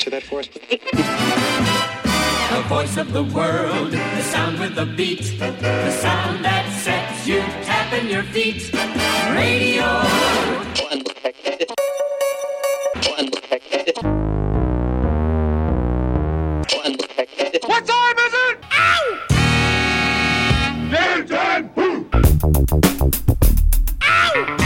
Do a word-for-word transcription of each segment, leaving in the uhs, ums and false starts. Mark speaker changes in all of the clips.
Speaker 1: answer that for us?
Speaker 2: The voice of the world, the sound with the beat, the sound that sets you tapping your feet. Radio.
Speaker 3: What time is it? Ow! Game time! Ow!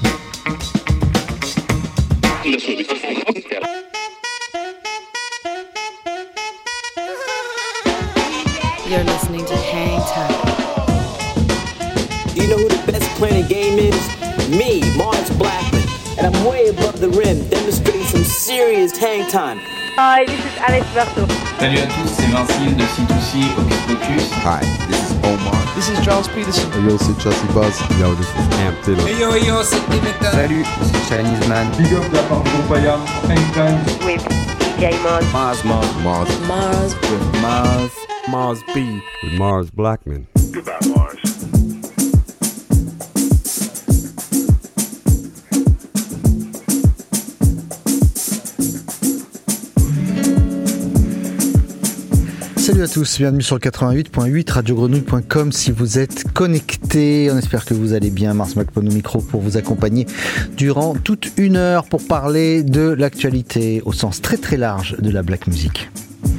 Speaker 4: You're listening to Hang Time.
Speaker 5: You know who the best playing game is? Me, Mars Blackman. And I'm way above the rim, demonstrating some serious hang time.
Speaker 6: Hi, this is Alex Berto.
Speaker 7: Salut à tous, c'est Vincile de C two C Hocus Pocus.
Speaker 8: Hi, this is Omar.
Speaker 9: This is Charles Peterson.
Speaker 10: Hey yo, c'est Chelsea Buzz. Yo, this is Amp Taylor.
Speaker 11: Hey yo, yo, c'est Dimitra.
Speaker 12: Salut, c'est Chinese Man.
Speaker 13: Big up de la part de Groupaya. Hang time.
Speaker 6: With D J Mars.
Speaker 8: Mars, Mars, Mars.
Speaker 4: Mars.
Speaker 8: With Mars.
Speaker 10: Mars B. With Mars Blackman.
Speaker 13: Goodbye, Mars.
Speaker 14: Salut à tous, bienvenue sur le quatre-vingt-huit point huit radio grenouille point com si vous êtes connectés. On espère que vous allez bien. Mars Blackman au micro pour vous accompagner durant toute une heure pour parler de l'actualité au sens très très large de la black music.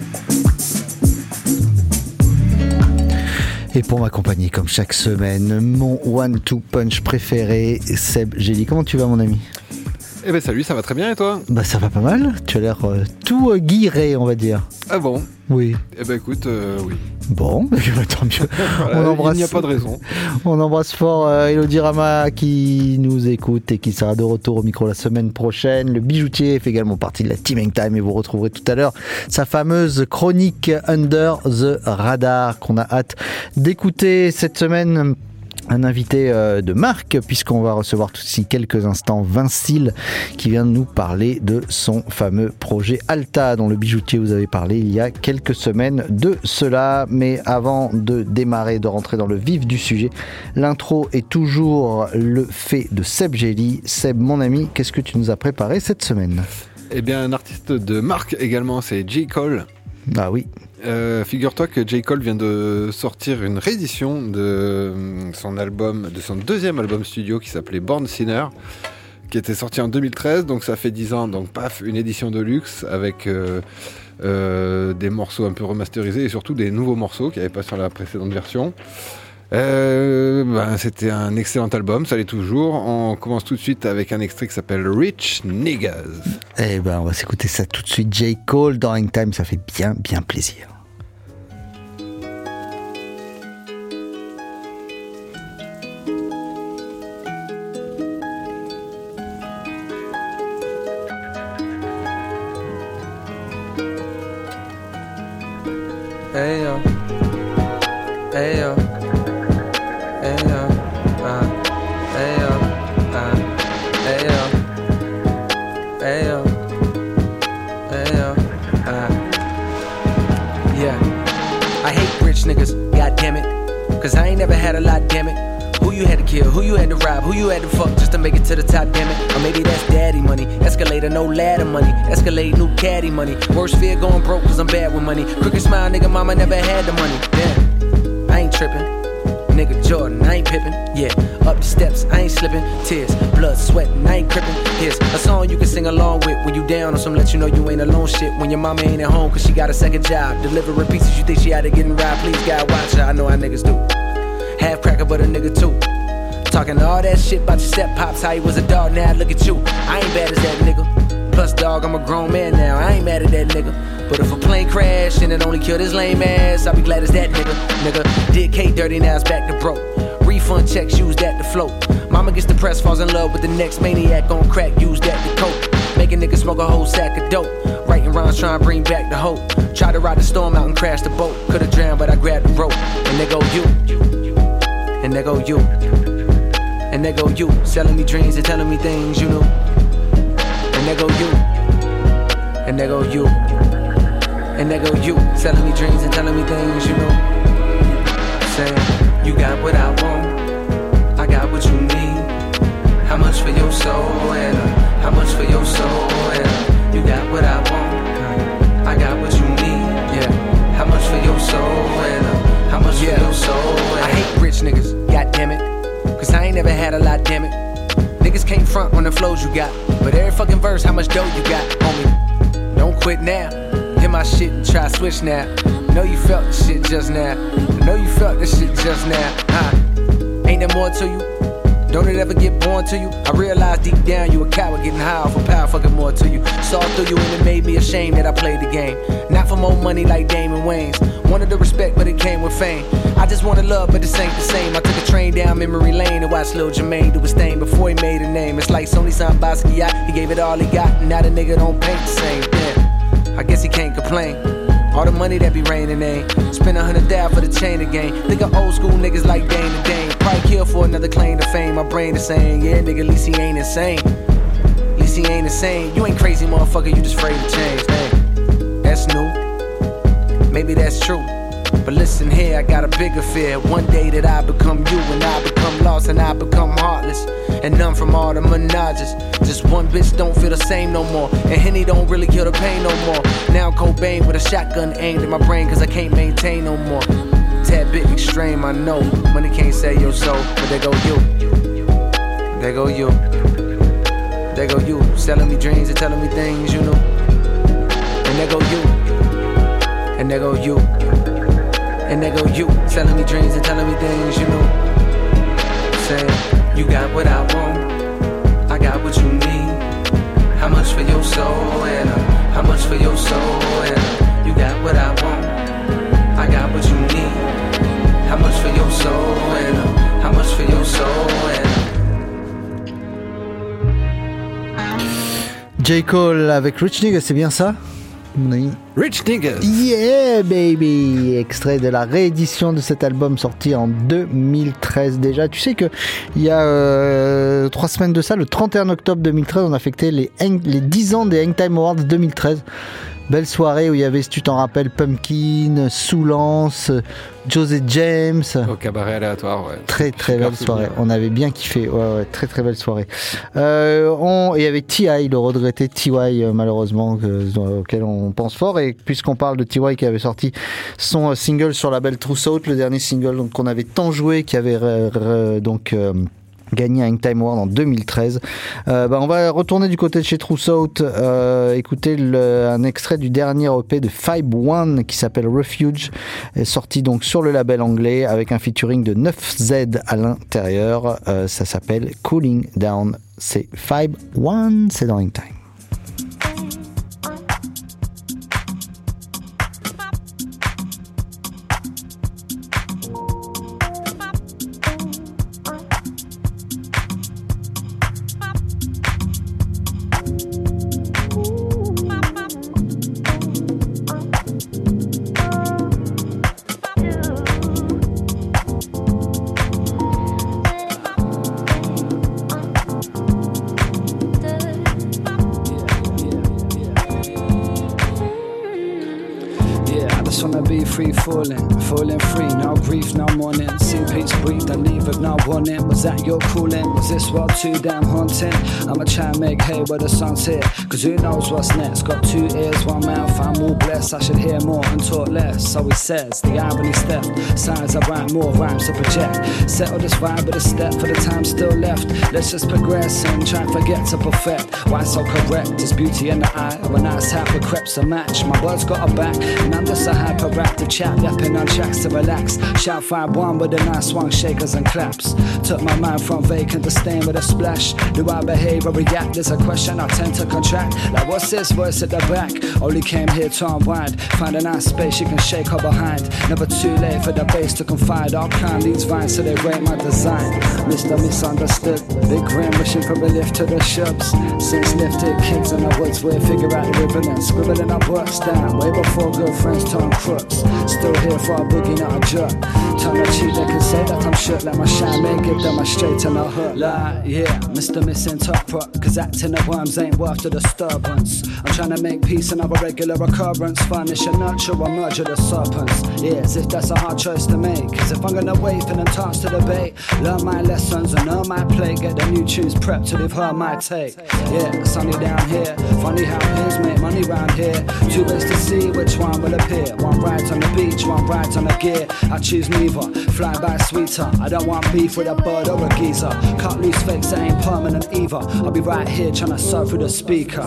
Speaker 14: Et pour m'accompagner comme chaque semaine, mon one two punch préféré, Seb Gély. Comment tu vas mon ami ?
Speaker 15: Eh ben salut, ça va très bien et toi ?
Speaker 14: Bah ça va pas mal, tu as l'air euh, tout euh, guiré on va dire.
Speaker 15: Ah bon ?
Speaker 14: Oui.
Speaker 15: Eh ben écoute, euh, oui.
Speaker 14: Bon, tant mieux.
Speaker 15: Voilà,
Speaker 14: on embrasse,
Speaker 15: il n'y a pas de raison.
Speaker 14: On embrasse fort euh, Elodie Rama qui nous écoute et qui sera de retour au micro la semaine prochaine. Le bijoutier fait également partie de la Team Hang Time et vous retrouverez tout à l'heure sa fameuse chronique Under the Radar qu'on a hâte d'écouter cette semaine. Un invité euh, de marque, puisqu'on va recevoir tout de suite quelques instants Vincile qui vient de nous parler de son fameux projet Alta, dont le bijoutier vous avait parlé il y a quelques semaines de cela. Mais avant de démarrer, de rentrer dans le vif du sujet, l'intro est toujours le fait de Seb Gély. Seb, mon ami, qu'est-ce que tu nous as préparé cette semaine ?
Speaker 15: Eh bien, un artiste de marque également, c'est J. Cole.
Speaker 14: Ah oui.
Speaker 15: Euh, figure-toi que J. Cole vient de sortir une réédition de son album, de son deuxième album studio qui s'appelait Born Sinner, qui était sorti en deux mille treize, donc ça fait dix ans, donc paf, une édition de luxe avec euh, euh, des morceaux un peu remasterisés et surtout des nouveaux morceaux qui n'avaient pas sur la précédente version. Euh, ben, c'était un excellent album, ça l'est toujours. On commence tout de suite avec un extrait qui s'appelle Rich Niggas.
Speaker 14: Eh ben, on va s'écouter ça tout de suite. J. Cole dans Hang Time, ça fait bien, bien plaisir.
Speaker 11: Hey yo, hey yo.
Speaker 16: Niggas, goddamn it, cause I ain't never had a lot, damn it. Who you had to kill, who you had to rob, who you had to fuck just to make it to the top, damn it. Or maybe that's daddy money, escalator, no ladder money, escalate, new caddy money. Worst fear going broke cause I'm bad with money. Crooked smile, nigga, mama never had the money, damn. I ain't tripping, nigga Jordan, I ain't pippin', yeah. Up the steps, I ain't slipping, tears, blood, sweating, I ain't crippin'. Here's a song you can sing along with when you down on some let you know you ain't alone shit. When your mama ain't at home cause she got a second job, delivering pieces you think she out of getting robbed. Please God watch her, I know how niggas do. Half cracker but a nigga too. Talking all that shit about your step pops, how he was a dog, now look at you. I ain't bad as that nigga. Plus dog, I'm a grown man now, I ain't mad at that nigga. But if a plane crash and it only killed his lame ass, I'll be glad as that nigga. Nigga did K dirty, now it's back to broke. Refund checks, use that to float. Mama gets depressed, falls in love with the next maniac on crack, use that to cope. Make a nigga smoke a whole sack of dope. Writing rhymes trying to bring back the hope. Try to ride the storm out and crash the boat. Could've drowned but I grabbed the rope. And there go you. And there go you. And there go you. Selling me dreams and telling me things you knew. And there go you. And there go you. And there go you. Selling me dreams and telling me things you knew. Saying you got what I want, I got what you need. How much for your soul and uh, how much for your soul and uh, you got what I want, damn it. Niggas can't front on the flows you got, but every fucking verse, how much dough you got, homie? Don't quit now. Hit my shit and try switch now. Know you felt the shit just now. Know you felt this shit just now. Huh? Ain't there more to you? Don't it ever get born to you? I realize deep down you a coward getting high off of power, fucking more to you. Saw through you and it made me ashamed that I played the game. Not for more money like Damon Wayans. Wanted the respect but it came with fame. I just wanted love but this ain't the same. I took a train down memory lane and watched Lil Jermaine do his thing before he made a name. It's like Sony signed Basquiat, he gave it all he got, and now the nigga don't paint the same. Damn, I guess he can't complain. All the money that be raining ain't spend a hundred down for the chain again. Think of old school niggas like Dane and Dane. Probably kill for another claim to fame. My brain is saying, yeah, nigga, at least he ain't insane. At least he ain't insane. You ain't crazy, motherfucker, you just afraid to change. Hey, that's new. Maybe that's true. But listen here, I got a bigger fear. One day that I become you and I become lost and I become heartless. And none from all the menages. Just one bitch don't feel the same no more. And Henny don't really kill the pain no more. Now I'm Cobain with a shotgun aimed at my brain cause I can't maintain no more. Tad bit extreme, I know. Money can't sell your soul, but there go you. There go you. There go you. Selling me dreams and telling me things you know. And there go you. And there go you. And there go you. Selling me dreams and telling me things you know. Saying you got what I want, I got what you need. How much for your soul, and uh, how much for your soul, and uh, you got what I want, I got what you need. How much for your soul, and uh, how much for your soul, and
Speaker 14: J. Cole avec Rich Niggas, c'est bien ça? Oui.
Speaker 15: Rich Niggas.
Speaker 14: Yeah baby. Extrait de la réédition de cet album sorti en deux mille treize déjà. Tu sais que il y a euh, trois semaines de ça, le trente et un octobre deux mille treize, on a fêté les, les dix ans des Hangtime Awards deux mille treize. Belle soirée où il y avait, si tu t'en rappelles, Pumpkin, Soulance, José James.
Speaker 15: Au cabaret aléatoire, ouais. Très
Speaker 14: très belle soirée. Bien. On avait bien kiffé. Ouais, ouais, très très belle soirée. Euh, on, et avec T I, le regretté T Y, malheureusement, que, auquel on pense fort. Et puisqu'on parle de T Y qui avait sorti son single sur la belle Truth Out, le dernier single donc, qu'on avait tant joué, qui avait re, re, donc. Euh, gagné un Hangtime Award en deux mille treize. Euh, bah on va retourner du côté de chez Truth Out, euh, écouter le, un extrait du dernier E P de Five One qui s'appelle Refuge, est sorti donc sur le label anglais avec un featuring de neuf Z à l'intérieur. Euh, ça s'appelle Cooling Down. C'est Five One, c'est dans Hangtime.
Speaker 1: Falling, falling free, no grief, no mourning. See peace breathe and leave with no warning. Was that your calling? Was this world too damn haunting? I'ma try and make hay where the sun's here, cause who knows what's next? Got two ears, one mouth, I'm all blessed. I should hear more and talk less. So he says, the irony's theft. Signs I write more rhymes to project. Settle this vibe with a step for the time still left. Let's just progress and try and forget to perfect. Why so correct? There's beauty in the eye of a nice hat with crepes to match. My words got a back, and I'm just a hyperactive chap. Yapping on tracks to relax. Shout five one with a nice one, shakers and claps. Took my mind from vacant to stain with a splash. Do I behave or react? There's a question I tend to contract. Like what's this voice at the back? Only came here to unwind. Find a nice space you can shake her behind. Never too late for the bass to confide. I'll climb these vines so they rate my design. Mister Misunderstood, big grin wishing for a lift to the shops. Since lifted kids in the woods, we figure out the ribbon and scribbling our books down. Way before good friends turn crooks. Still here for a boogie, not a jerk. Turn a cheek, they can say that I'm shook. Like my shine man, give them a straight and a hook. Like, yeah, Mister Misinterpret, cause acting at worms ain't worth the disturbance. I'm trying to make peace and have a regular occurrence. Furnish and nurture or merge the serpents. Yeah, as if that's a hard choice to make. Cause if I'm gonna wait for them talks to debate, learn my lessons and earn my plate. Get the new tunes prepped till they've heard my take. Yeah, sunny down here. Funny how peers make money round here. Two ways to see which one will appear. One rides on the beach, one rides on the gear. I choose neither either. Flying by sweeter, I don't want beef with a bird or a geezer. Cut loose fakes that ain't permanent either. I'll be right here trying to surf through the speaker.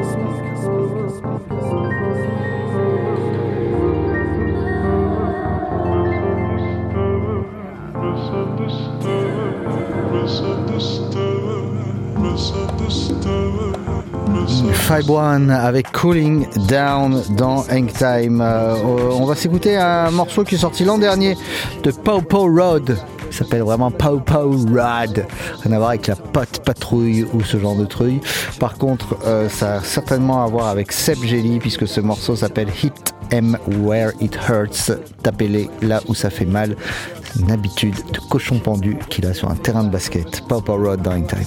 Speaker 14: Five One avec Cooling Down dans Hang Time. Euh, on va s'écouter un morceau qui est sorti l'an dernier de Pow Pow Road. Il s'appelle vraiment Pow Pow Road. Rien à voir avec la pote patrouille ou ce genre de truc. Par contre, euh, ça a certainement à voir avec Seb Jelly puisque ce morceau s'appelle Hit Em Where It Hurts. Tapez-les là où ça fait mal. C'est une habitude de cochon pendu qu'il a sur un terrain de basket. Pow Pow Road dans Hang Time.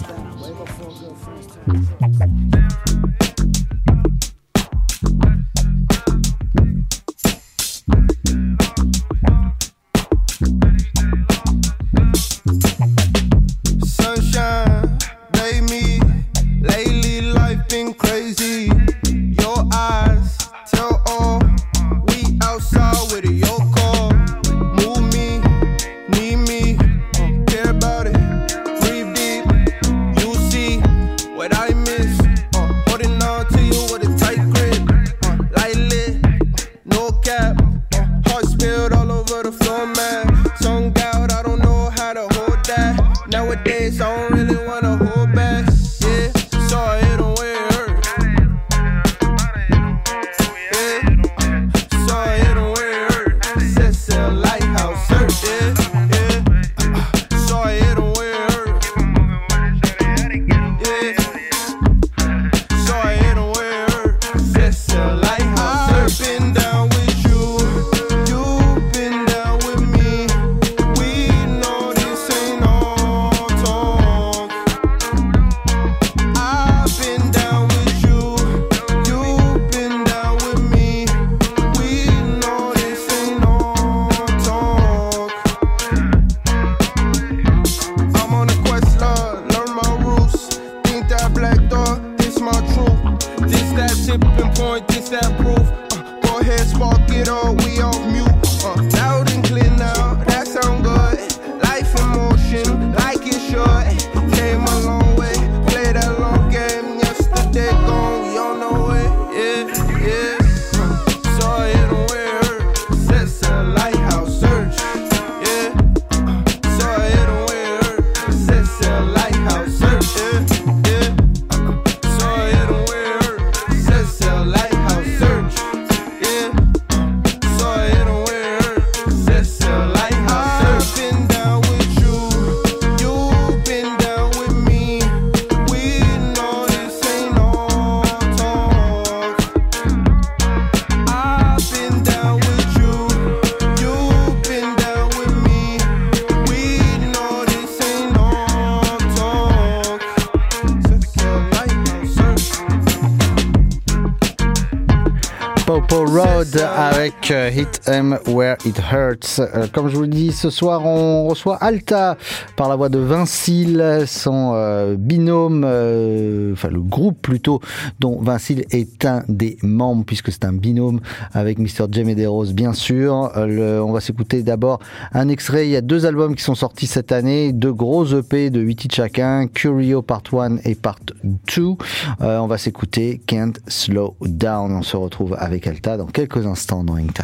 Speaker 14: Avec Hit Em Where It Hurts. Euh, comme je vous le dis, ce soir on reçoit Alta par la voix de Vincile, son euh, binôme, euh, enfin le groupe plutôt, dont Vincile est un des membres puisque c'est un binôme avec mister J Medeiros bien sûr. Euh, le, on va s'écouter d'abord un extrait. Il y a deux albums qui sont sortis cette année, deux gros E P de huit titres chacun, Curio Part un et Part deux. Euh, on va s'écouter Can't Slow Down. On se retrouve avec Alta dans quelques instants dans Hang Time.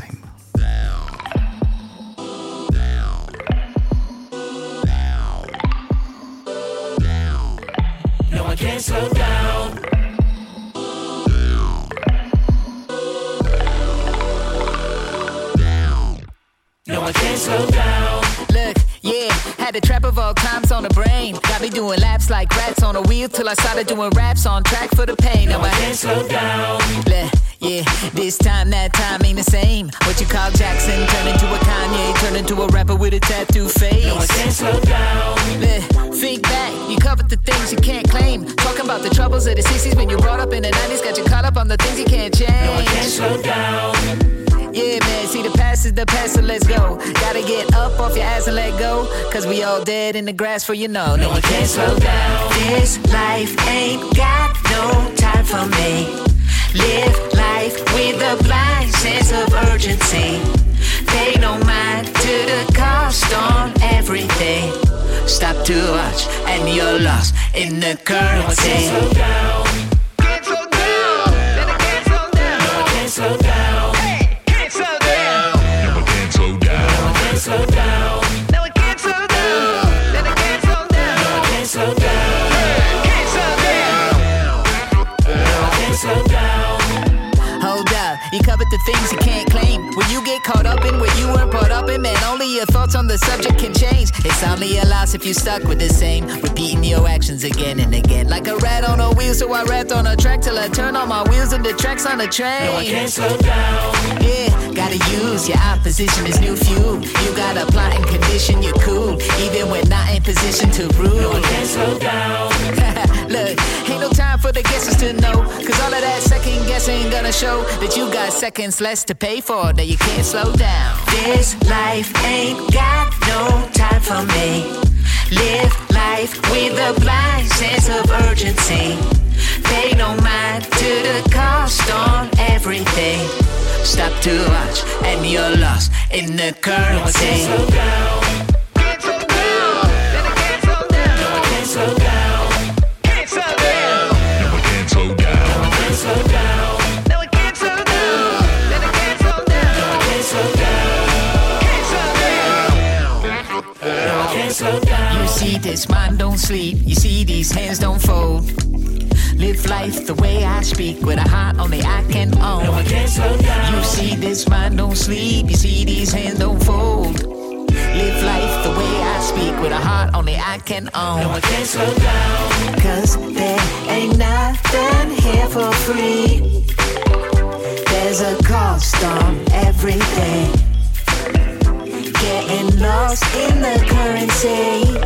Speaker 2: No, I can't slow down. No, I can't slow down.
Speaker 9: Look, yeah, had the trap of all times on the brain. Got me doing laps like rats on a wheel till I started doing raps on track for the pain.
Speaker 2: No, I can't slow down.
Speaker 9: Look, yeah, this time, that time ain't the same. What you call Jackson, turn into a Kanye, turn into a rapper with a tattoo face.
Speaker 2: No, I can't slow down.
Speaker 9: Look, think back, you covered the things you can't claim. Talking about the troubles of the sixties when you brought up in the nineties. Got you caught up on the things you can't change.
Speaker 2: No, I can't slow down.
Speaker 9: Yeah, man, see the past is the past, so let's go. Gotta get up off your ass and let go. Cause we all dead in the grass for you know.
Speaker 2: No, I can't slow down.
Speaker 12: This life ain't got no time for me. Live life with a blind sense of urgency. Pay no mind to the cost
Speaker 9: too much and you're lost in the currency.
Speaker 2: No, I can't slow down. Can't slow down. Then I can't slow down. No, I can't slow down. Hey, can't slow down. No, I can't slow down. No, I can't slow down. No, I can't slow down. Then I can't slow down. No, I can't slow down. Can't slow down. No, I can't slow down.
Speaker 9: Hold up, you covered the things you can't claim. When you get caught up in what you weren't brought up in, man, only your thoughts on the subject can change. It's only a loss if you stuck with the same, repeating your actions again and again. Like a rat on a wheel, so I rapped on a track till I turn all my wheels into tracks on a train.
Speaker 2: No, I can't slow down.
Speaker 9: Yeah, gotta use your opposition as new fuel. You got a plot and condition, you're cool, even when not in position to rule.
Speaker 2: No, I can't slow down.
Speaker 9: Look, ain't no time for the guesses to know, cause all of that second guessing ain't gonna show that you got seconds less to pay for, that you can't slow down.
Speaker 12: This life ain't got no time for me. Live life with a blind sense of urgency. Pay no mind to the cost on everything. Stop too much and you're lost in the currency.
Speaker 2: No, I can't slow down. Can't slow down. Then I can't slow down. No, I can't slow down. Can't slow down. No, I can't slow down. No, I can't slow down. No, I can't slow down. Then I can't slow down. No, I can't slow down. Can't slow down. No, I can't slow down.
Speaker 9: You see this mind don't sleep, you see these hands don't fold. Live life the way I speak, with a heart only I can own.
Speaker 2: No, I can't slow down.
Speaker 9: You see this mind don't sleep, you see these hands don't fold. Live life the way I speak, with a heart only I can own.
Speaker 2: No, I can't slow down.
Speaker 12: Cause there ain't nothing here for free. There's a cost on everything. Getting lost in the currency.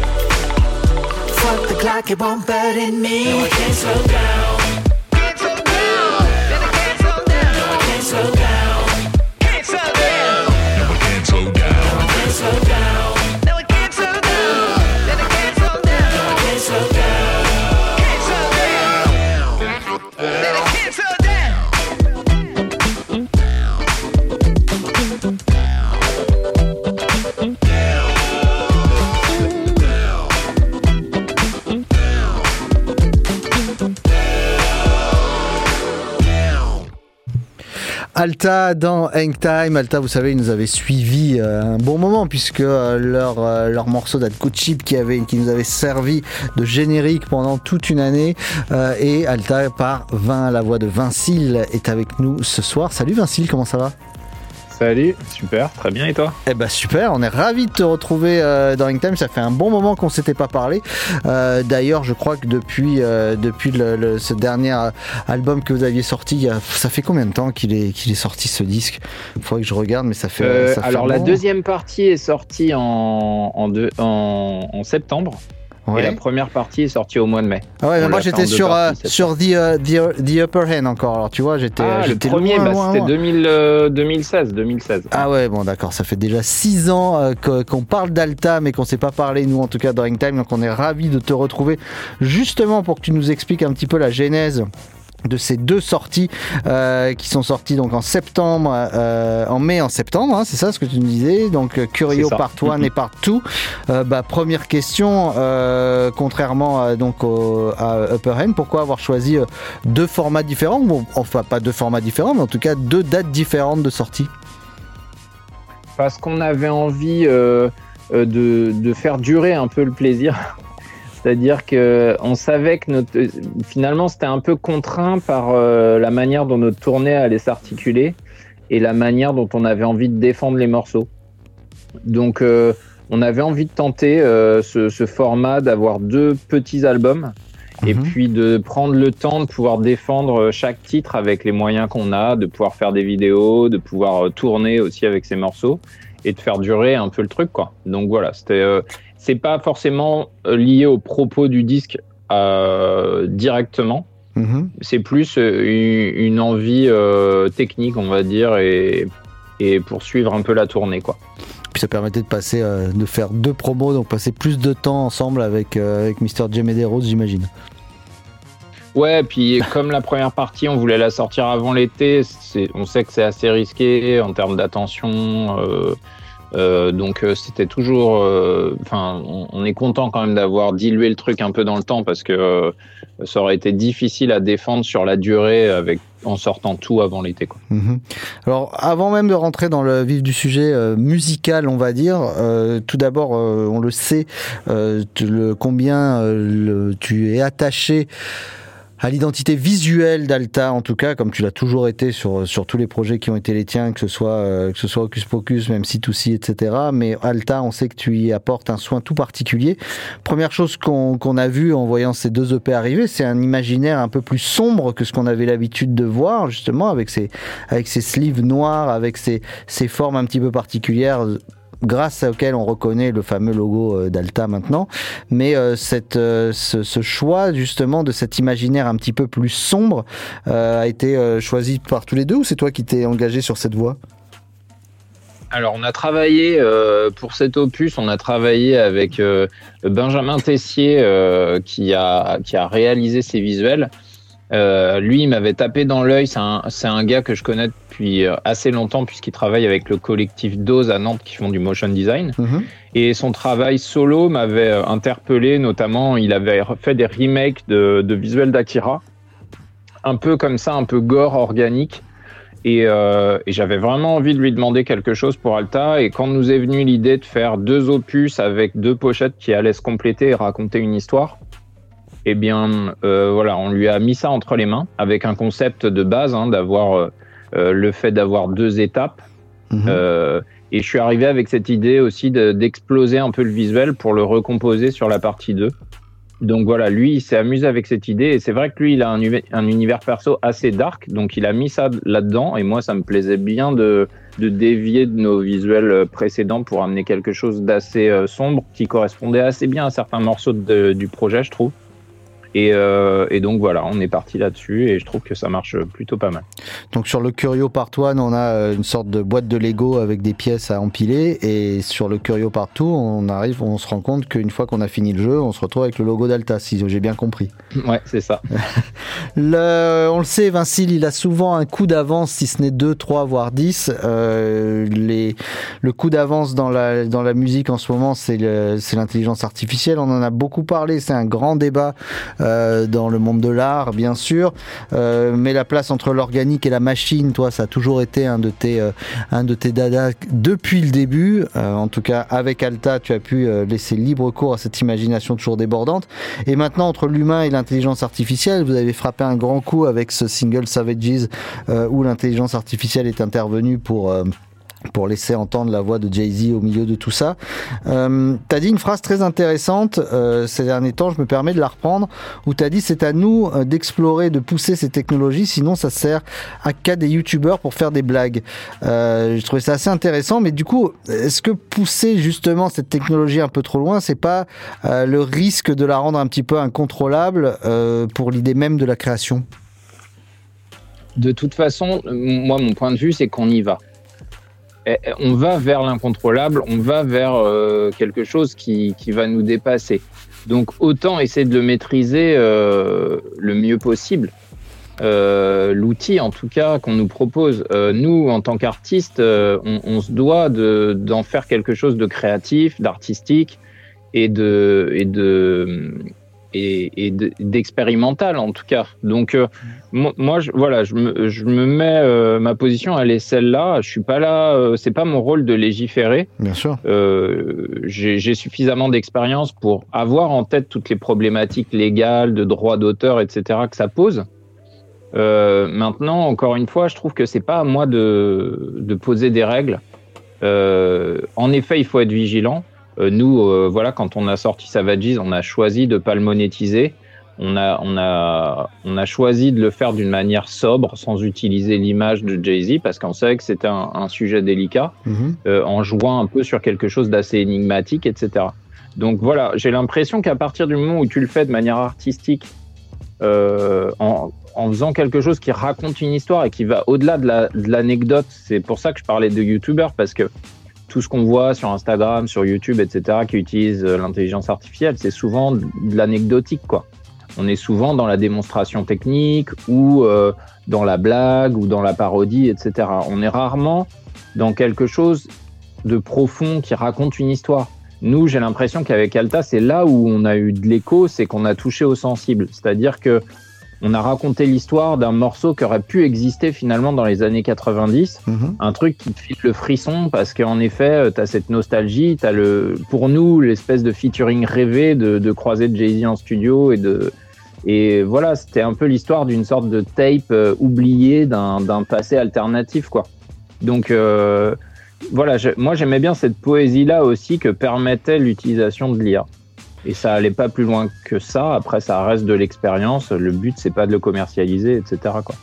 Speaker 12: Fuck the clock, it won't burden me.
Speaker 2: No, I can't slow down. Can't slow down. Then I can't slow down. No, I can't slow down. Can't slow down. No, I can't slow down. No, I can't slow down. No, I can't slow down. Then I can't slow down. No, I can't slow down. Can't slow down. Then I can't slow down.
Speaker 14: Alta dans Hang Time. Alta, vous savez, ils nous avaient suivis euh, un bon moment, puisque euh, leur, euh, leur morceau d'Atco Chip qui, avait, qui nous avait servi de générique pendant toute une année. Euh, et Alta par Vin, la voix de Vincile est avec nous ce soir. Salut Vincile, comment ça va ?
Speaker 17: Salut, super, très bien, et toi ?
Speaker 14: Eh ben super, on est ravis de te retrouver euh, dans Hang Time, ça fait un bon moment qu'on ne s'était pas parlé. Euh, d'ailleurs, je crois que depuis, euh, depuis le, le, ce dernier album que vous aviez sorti, il y a, ça fait combien de temps qu'il est, qu'il est sorti ce disque ? Il faudrait que je regarde, mais ça fait...
Speaker 17: Euh,
Speaker 14: ça fait
Speaker 17: alors
Speaker 14: bon.
Speaker 17: La deuxième partie est sortie en, en, deux, en, en septembre. Ouais. Et la première partie est sortie au mois de mai.
Speaker 14: Ah ouais, mais moi j'étais sur, parties, euh, sur the, uh, the, the Upper Hand encore. Alors tu vois, j'étais.
Speaker 17: Ah,
Speaker 14: j'étais
Speaker 17: le premier,
Speaker 14: loin,
Speaker 17: bah,
Speaker 14: loin,
Speaker 17: c'était
Speaker 14: loin.
Speaker 17: deux mille, euh, deux mille seize, deux mille seize.
Speaker 14: Ah ouais, bon d'accord, ça fait déjà six ans euh, qu'on parle d'Alta, mais qu'on ne s'est pas parlé, nous en tout cas, dans Hang Time. Donc on est ravis de te retrouver justement pour que tu nous expliques un petit peu la genèse de ces deux sorties euh, qui sont sorties donc en septembre, euh, en mai, en septembre, hein, c'est ça ce que tu nous disais. Donc Curio Part un mm-hmm. et Part deux. Euh, bah, première question, euh, contrairement à, donc au, à Upper Hand, pourquoi avoir choisi euh, deux formats différents, bon, enfin pas deux formats différents, mais en tout cas deux dates différentes de sortie?
Speaker 17: Parce qu'on avait envie euh, de, de faire durer un peu le plaisir. C'est-à-dire qu'on savait que notre, finalement, c'était un peu contraint par euh, la manière dont notre tournée allait s'articuler et la manière dont on avait envie de défendre les morceaux. Donc, euh, on avait envie de tenter euh, ce, ce format d'avoir deux petits albums mmh. et puis de prendre le temps de pouvoir défendre chaque titre avec les moyens qu'on a, de pouvoir faire des vidéos, de pouvoir tourner aussi avec ces morceaux et de faire durer un peu le truc, quoi. Donc voilà, c'était... Euh, c'est pas forcément lié au propos du disque euh, directement. Mmh. C'est plus une, une envie euh, technique, on va dire, et, et poursuivre un peu la tournée, quoi.
Speaker 14: Puis ça permettait de passer, euh, de faire deux promos, donc passer plus de temps ensemble avec euh, avec mister J Medeiros, j'imagine.
Speaker 17: Ouais, puis comme la première partie, on voulait la sortir avant l'été. C'est, on sait que c'est assez risqué en termes d'attention. Euh, Euh, donc euh, c'était toujours, enfin, euh, on, on est content quand même d'avoir dilué le truc un peu dans le temps parce que euh, ça aurait été difficile à défendre sur la durée avec en sortant tout avant l'été, quoi.
Speaker 14: Mmh. Alors, avant même de rentrer dans le vif du sujet euh, musical, on va dire, euh, tout d'abord, euh, on le sait, euh, le, combien euh, le, tu es attaché à l'identité visuelle d'Alta, en tout cas, comme tu l'as toujours été sur sur tous les projets qui ont été les tiens, que ce soit euh, que ce soit Hocus Pocus, même C deux C, et cetera. Mais Alta, on sait que tu y apportes un soin tout particulier. Première chose qu'on qu'on a vu en voyant ces deux E P arriver, c'est un imaginaire un peu plus sombre que ce qu'on avait l'habitude de voir, justement, avec ces avec ces sleeves noirs, avec ces ces formes un petit peu particulières, grâce auquel on reconnaît le fameux logo d'Alta maintenant. Mais euh, cette, euh, ce, ce choix justement de cet imaginaire un petit peu plus sombre euh, a été euh, choisi par tous les deux, ou c'est toi qui t'es engagé sur cette voie ?
Speaker 17: Alors on a travaillé euh, pour cet opus, on a travaillé avec euh, Benjamin Tessier euh, qui a qui a réalisé ces visuels. Euh, lui, il m'avait tapé dans l'œil. C'est un, c'est un gars que je connais depuis assez longtemps puisqu'il travaille avec le collectif Dose à Nantes qui font du motion design. Mmh. Et son travail solo m'avait interpellé. Notamment, il avait fait des remakes de, de visuels d'Akira, un peu comme ça, un peu gore organique. Et, euh, et j'avais vraiment envie de lui demander quelque chose pour Alta. Et quand nous est venue l'idée de faire deux opus avec deux pochettes qui allaient se compléter et raconter une histoire, eh bien, euh, voilà, on lui a mis ça entre les mains avec un concept de base, hein, d'avoir euh, le fait d'avoir deux étapes. Mmh. Euh, et je suis arrivé avec cette idée aussi de, d'exploser un peu le visuel pour le recomposer sur la partie deux. Donc voilà, lui, il s'est amusé avec cette idée. Et c'est vrai que lui, il a un, un univers perso assez dark. Donc il a mis ça là-dedans. Et moi, ça me plaisait bien de, de dévier de nos visuels précédents pour amener quelque chose d'assez euh, sombre qui correspondait assez bien à certains morceaux de, du projet, je trouve. Et, euh, et donc voilà, on est parti là-dessus et je trouve que ça marche plutôt pas mal.
Speaker 14: Donc sur le Curio Part un, on a une sorte de boîte de Lego avec des pièces à empiler, et sur le Curio Part deux, on arrive, on se rend compte qu'une fois qu'on a fini le jeu, on se retrouve avec le logo d'Alta, si j'ai bien compris.
Speaker 17: Ouais, c'est ça.
Speaker 14: le, on le sait, Vincile, il a souvent un coup d'avance, si ce n'est deux, trois, voire dix. Euh, les, le coup d'avance dans la, dans la musique en ce moment, c'est, le, c'est l'intelligence artificielle. On en a beaucoup parlé, c'est un grand débat Euh, dans le monde de l'art, bien sûr, euh, mais la place entre l'organique et la machine, toi, ça a toujours été un de tes, euh, un de tes dadas depuis le début. Euh, en tout cas, avec Alta, tu as pu euh, laisser libre cours à cette imagination toujours débordante. Et maintenant, entre l'humain et l'intelligence artificielle, vous avez frappé un grand coup avec ce single Savages, euh, où l'intelligence artificielle est intervenue pour euh, pour laisser entendre la voix de Jay-Z au milieu de tout ça. Euh, t'as dit une phrase très intéressante euh, ces derniers temps, je me permets de la reprendre, où t'as dit c'est à nous euh, d'explorer, de pousser ces technologies, sinon ça sert à qu'à des youtubeurs pour faire des blagues. Euh, je trouvais ça assez intéressant, mais du coup, est-ce que pousser justement cette technologie un peu trop loin, c'est pas euh, le risque de la rendre un petit peu incontrôlable euh, pour l'idée même de la création ?
Speaker 17: De toute façon, moi, mon point de vue, c'est qu'on y va. On va vers l'incontrôlable, on va vers euh, quelque chose qui, qui va nous dépasser. Donc autant essayer de le maîtriser euh, le mieux possible. Euh, l'outil, en tout cas, qu'on nous propose. Euh, nous, en tant qu'artistes, euh, on, on se doit de, d'en faire quelque chose de créatif, d'artistique et de... Et de Et, et d'expérimental en tout cas. Donc euh, moi, je, voilà, je me, je me mets euh, ma position, elle est celle-là. Je suis pas là, euh, c'est pas mon rôle de légiférer.
Speaker 14: Bien sûr.
Speaker 17: Euh, j'ai, j'ai suffisamment d'expérience pour avoir en tête toutes les problématiques légales, de droits d'auteur, et cetera que ça pose. Euh, maintenant, encore une fois, je trouve que c'est pas à moi de, de poser des règles. Euh, en effet, il faut être vigilant. Nous, euh, voilà, quand on a sorti Savages, on a choisi de pas le monétiser. On a, on a, on a choisi de le faire d'une manière sobre, sans utiliser l'image de Jay-Z, parce qu'on savait que c'était un, un sujet délicat, mmh. euh, en jouant un peu sur quelque chose d'assez énigmatique, et cetera. Donc voilà, j'ai l'impression qu'à partir du moment où tu le fais de manière artistique, euh, en, en faisant quelque chose qui raconte une histoire et qui va au-delà de, la, de l'anecdote, c'est pour ça que je parlais de youtubeurs, parce que tout ce qu'on voit sur Instagram, sur YouTube, et cetera, qui utilisent l'intelligence artificielle, c'est souvent de l'anecdotique, quoi. On est souvent dans la démonstration technique ou euh, dans la blague ou dans la parodie, et cetera. On est rarement dans quelque chose de profond qui raconte une histoire. Nous, j'ai l'impression qu'avec Alta, c'est là où on a eu de l'écho, c'est qu'on a touché au sensible. C'est-à-dire que on a raconté l'histoire d'un morceau qui aurait pu exister finalement dans les années quatre-vingt-dix. Mmh. Un truc qui te file le frisson parce qu'en effet, t'as cette nostalgie, t'as le, pour nous, l'espèce de featuring rêvé de, de croiser de Jay-Z en studio et de, et voilà, c'était un peu l'histoire d'une sorte de tape euh, oubliée d'un, d'un passé alternatif, quoi. Donc, euh, voilà, je, moi j'aimais bien cette poésie-là aussi que permettait l'utilisation de l'I A. Et ça allait pas plus loin que ça. Après, ça reste de l'expérience. Le but, c'est pas de le commercialiser, et cetera, quoi.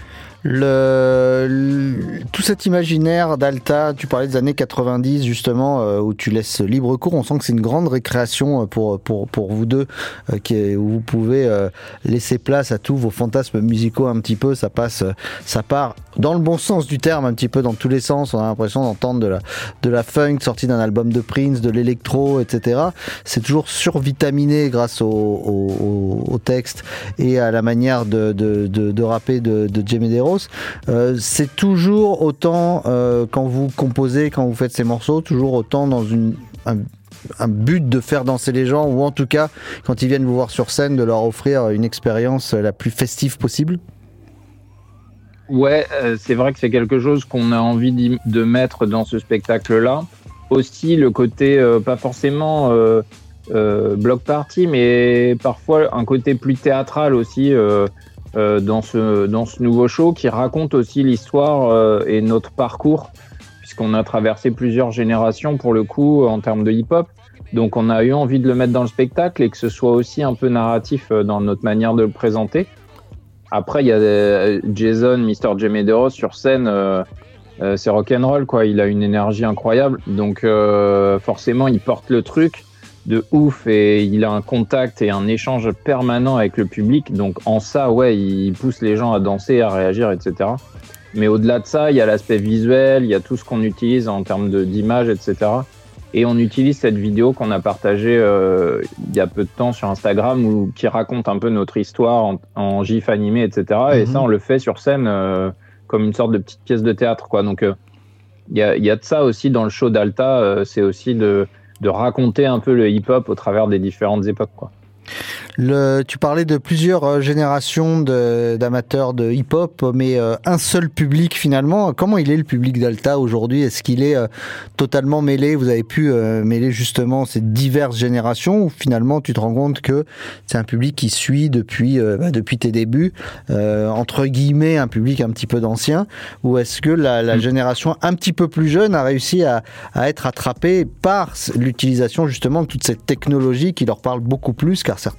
Speaker 14: Le, le, tout cet imaginaire d'Alta, tu parlais des années quatre-vingt-dix justement, euh, où tu laisses libre cours, on sent que c'est une grande récréation pour, pour, pour vous deux, euh, qui est, où vous pouvez euh, laisser place à tous vos fantasmes musicaux un petit peu, ça passe, ça part dans le bon sens du terme, un petit peu dans tous les sens, on a l'impression d'entendre de la, de la funk sortie d'un album de Prince, de l'électro, et cetera. C'est toujours survitaminé grâce au, au, au texte et à la manière de, de, de, de rapper de, de Jay Medeiros. Euh, c'est toujours autant euh, quand vous composez, quand vous faites ces morceaux, toujours autant dans une, un, un but de faire danser les gens, ou en tout cas quand ils viennent vous voir sur scène, de leur offrir une expérience la plus festive possible.
Speaker 17: Ouais, euh, c'est vrai que c'est quelque chose qu'on a envie de mettre dans ce spectacle-là. Aussi le côté euh, pas forcément euh, euh, block party, mais parfois un côté plus théâtral aussi. Euh, Euh, dans ce dans ce nouveau show qui raconte aussi l'histoire euh, et notre parcours, puisqu'on a traversé plusieurs générations pour le coup en termes de hip-hop. Donc on a eu envie de le mettre dans le spectacle et que ce soit aussi un peu narratif euh, dans notre manière de le présenter. Après il y a euh, Jason, mister Jay Medeiros sur scène, euh, euh, c'est rock'n'roll quoi. Il a une énergie incroyable, donc euh, forcément il porte le truc de ouf et il a un contact et un échange permanent avec le public, donc en ça ouais il pousse les gens à danser, à réagir, etc. Mais au-delà de ça il y a l'aspect visuel, il y a tout ce qu'on utilise en termes de, d'image, etc. Et on utilise cette vidéo qu'on a partagée euh, il y a peu de temps sur Instagram, où, qui raconte un peu notre histoire en, en gif animé, etc. Mm-hmm. Et ça on le fait sur scène euh, comme une sorte de petite pièce de théâtre quoi. Donc il euh, y, a, y a de ça aussi dans le show d'Alta, euh, c'est aussi de de raconter un peu le hip-hop au travers des différentes époques, quoi.
Speaker 14: Le, tu parlais de plusieurs générations de, d'amateurs de hip-hop, mais euh, un seul public finalement. Comment il est le public d'Alta aujourd'hui ? Est-ce qu'il est euh, totalement mêlé ? Vous avez pu euh, mêler justement ces diverses générations, ou finalement tu te rends compte que c'est un public qui suit depuis, euh, bah, depuis tes débuts, euh, entre guillemets un public un petit peu d'ancien, ou est-ce que la, la génération un petit peu plus jeune a réussi à, à être attrapée par l'utilisation justement de toute cette technologie qui leur parle beaucoup plus qu'à certains ?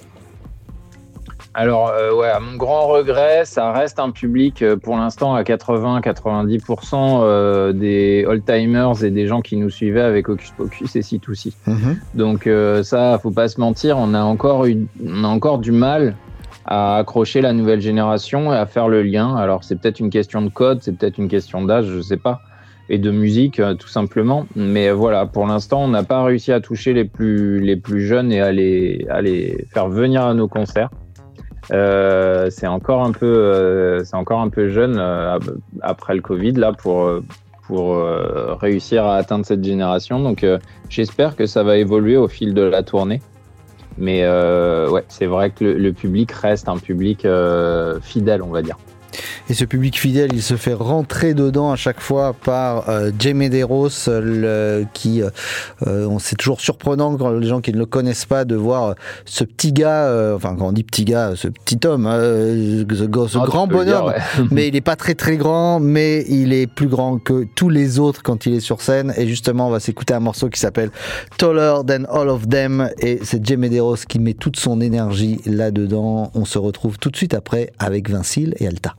Speaker 17: Alors, euh, ouais, à mon grand regret, ça reste un public euh, pour l'instant à quatre-vingts à quatre-vingt-dix pour cent euh, des old-timers et des gens qui nous suivaient avec Hocus Pocus et C deux C. Mmh. Donc, euh, ça, faut pas se mentir, on a encore eu, on a encore du mal à accrocher la nouvelle génération et à faire le lien. Alors, c'est peut-être une question de code, c'est peut-être une question d'âge, je sais pas, et de musique, euh, tout simplement. Mais voilà, pour l'instant, on n'a pas réussi à toucher les plus, les plus jeunes et à les, à les faire venir à nos concerts. Euh, c'est encore un peu, euh, c'est encore un peu jeune euh, après le Covid là pour pour euh, réussir à atteindre cette génération. Donc euh, j'espère que ça va évoluer au fil de la tournée. Mais euh, ouais, c'est vrai que le, le public reste un public euh, fidèle, on va dire.
Speaker 14: Et ce public fidèle, il se fait rentrer dedans à chaque fois par euh, Jay Medeiros, le, qui, euh, c'est toujours surprenant quand les gens qui ne le connaissent pas de voir ce petit gars, euh, enfin quand on dit petit gars, ce petit homme, euh, ce, ce oh, grand bonhomme, dire, ouais. Mais il est pas très très grand, mais il est plus grand que tous les autres quand il est sur scène. Et justement, on va s'écouter un morceau qui s'appelle Taller Than All of Them, et c'est Jay Medeiros qui met toute son énergie là-dedans. On se retrouve tout de suite après avec Vincile et Alta.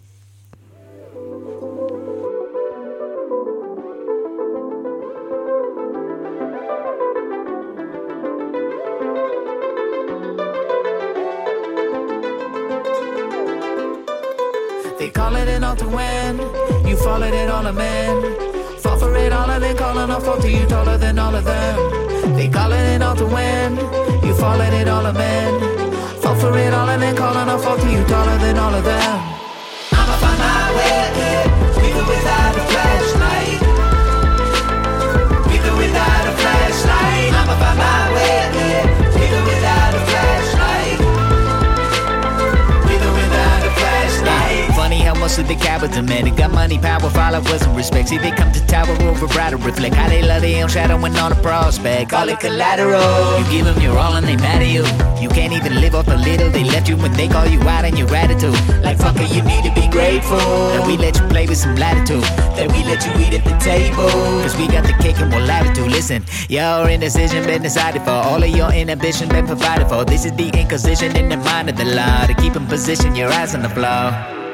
Speaker 12: They calling it all to win. You followed it all a man. Fall for it all and then calling off to you taller than all of them. They calling it all to win. You followed it all a man. Fall for it all and then calling off to you taller than all of them. I'ma find my way ahead, even without a flashlight.
Speaker 9: man. They got money, power, followers, and respect. See, they come to tower over brighter, reflect how they love their own shadow and on a prospect. Call it collateral. You give them your all and they mad at you. You can't even live off a little they left you when they call you out and your attitude. Like fucker, you need to be grateful that we let you play with some latitude, that we let you eat at the table. Cause we got the cake and we'll have it too. Listen, your indecision been decided for. All of your inhibition been provided for. This is the inquisition in the mind of the law to keep in position, your eyes on the floor.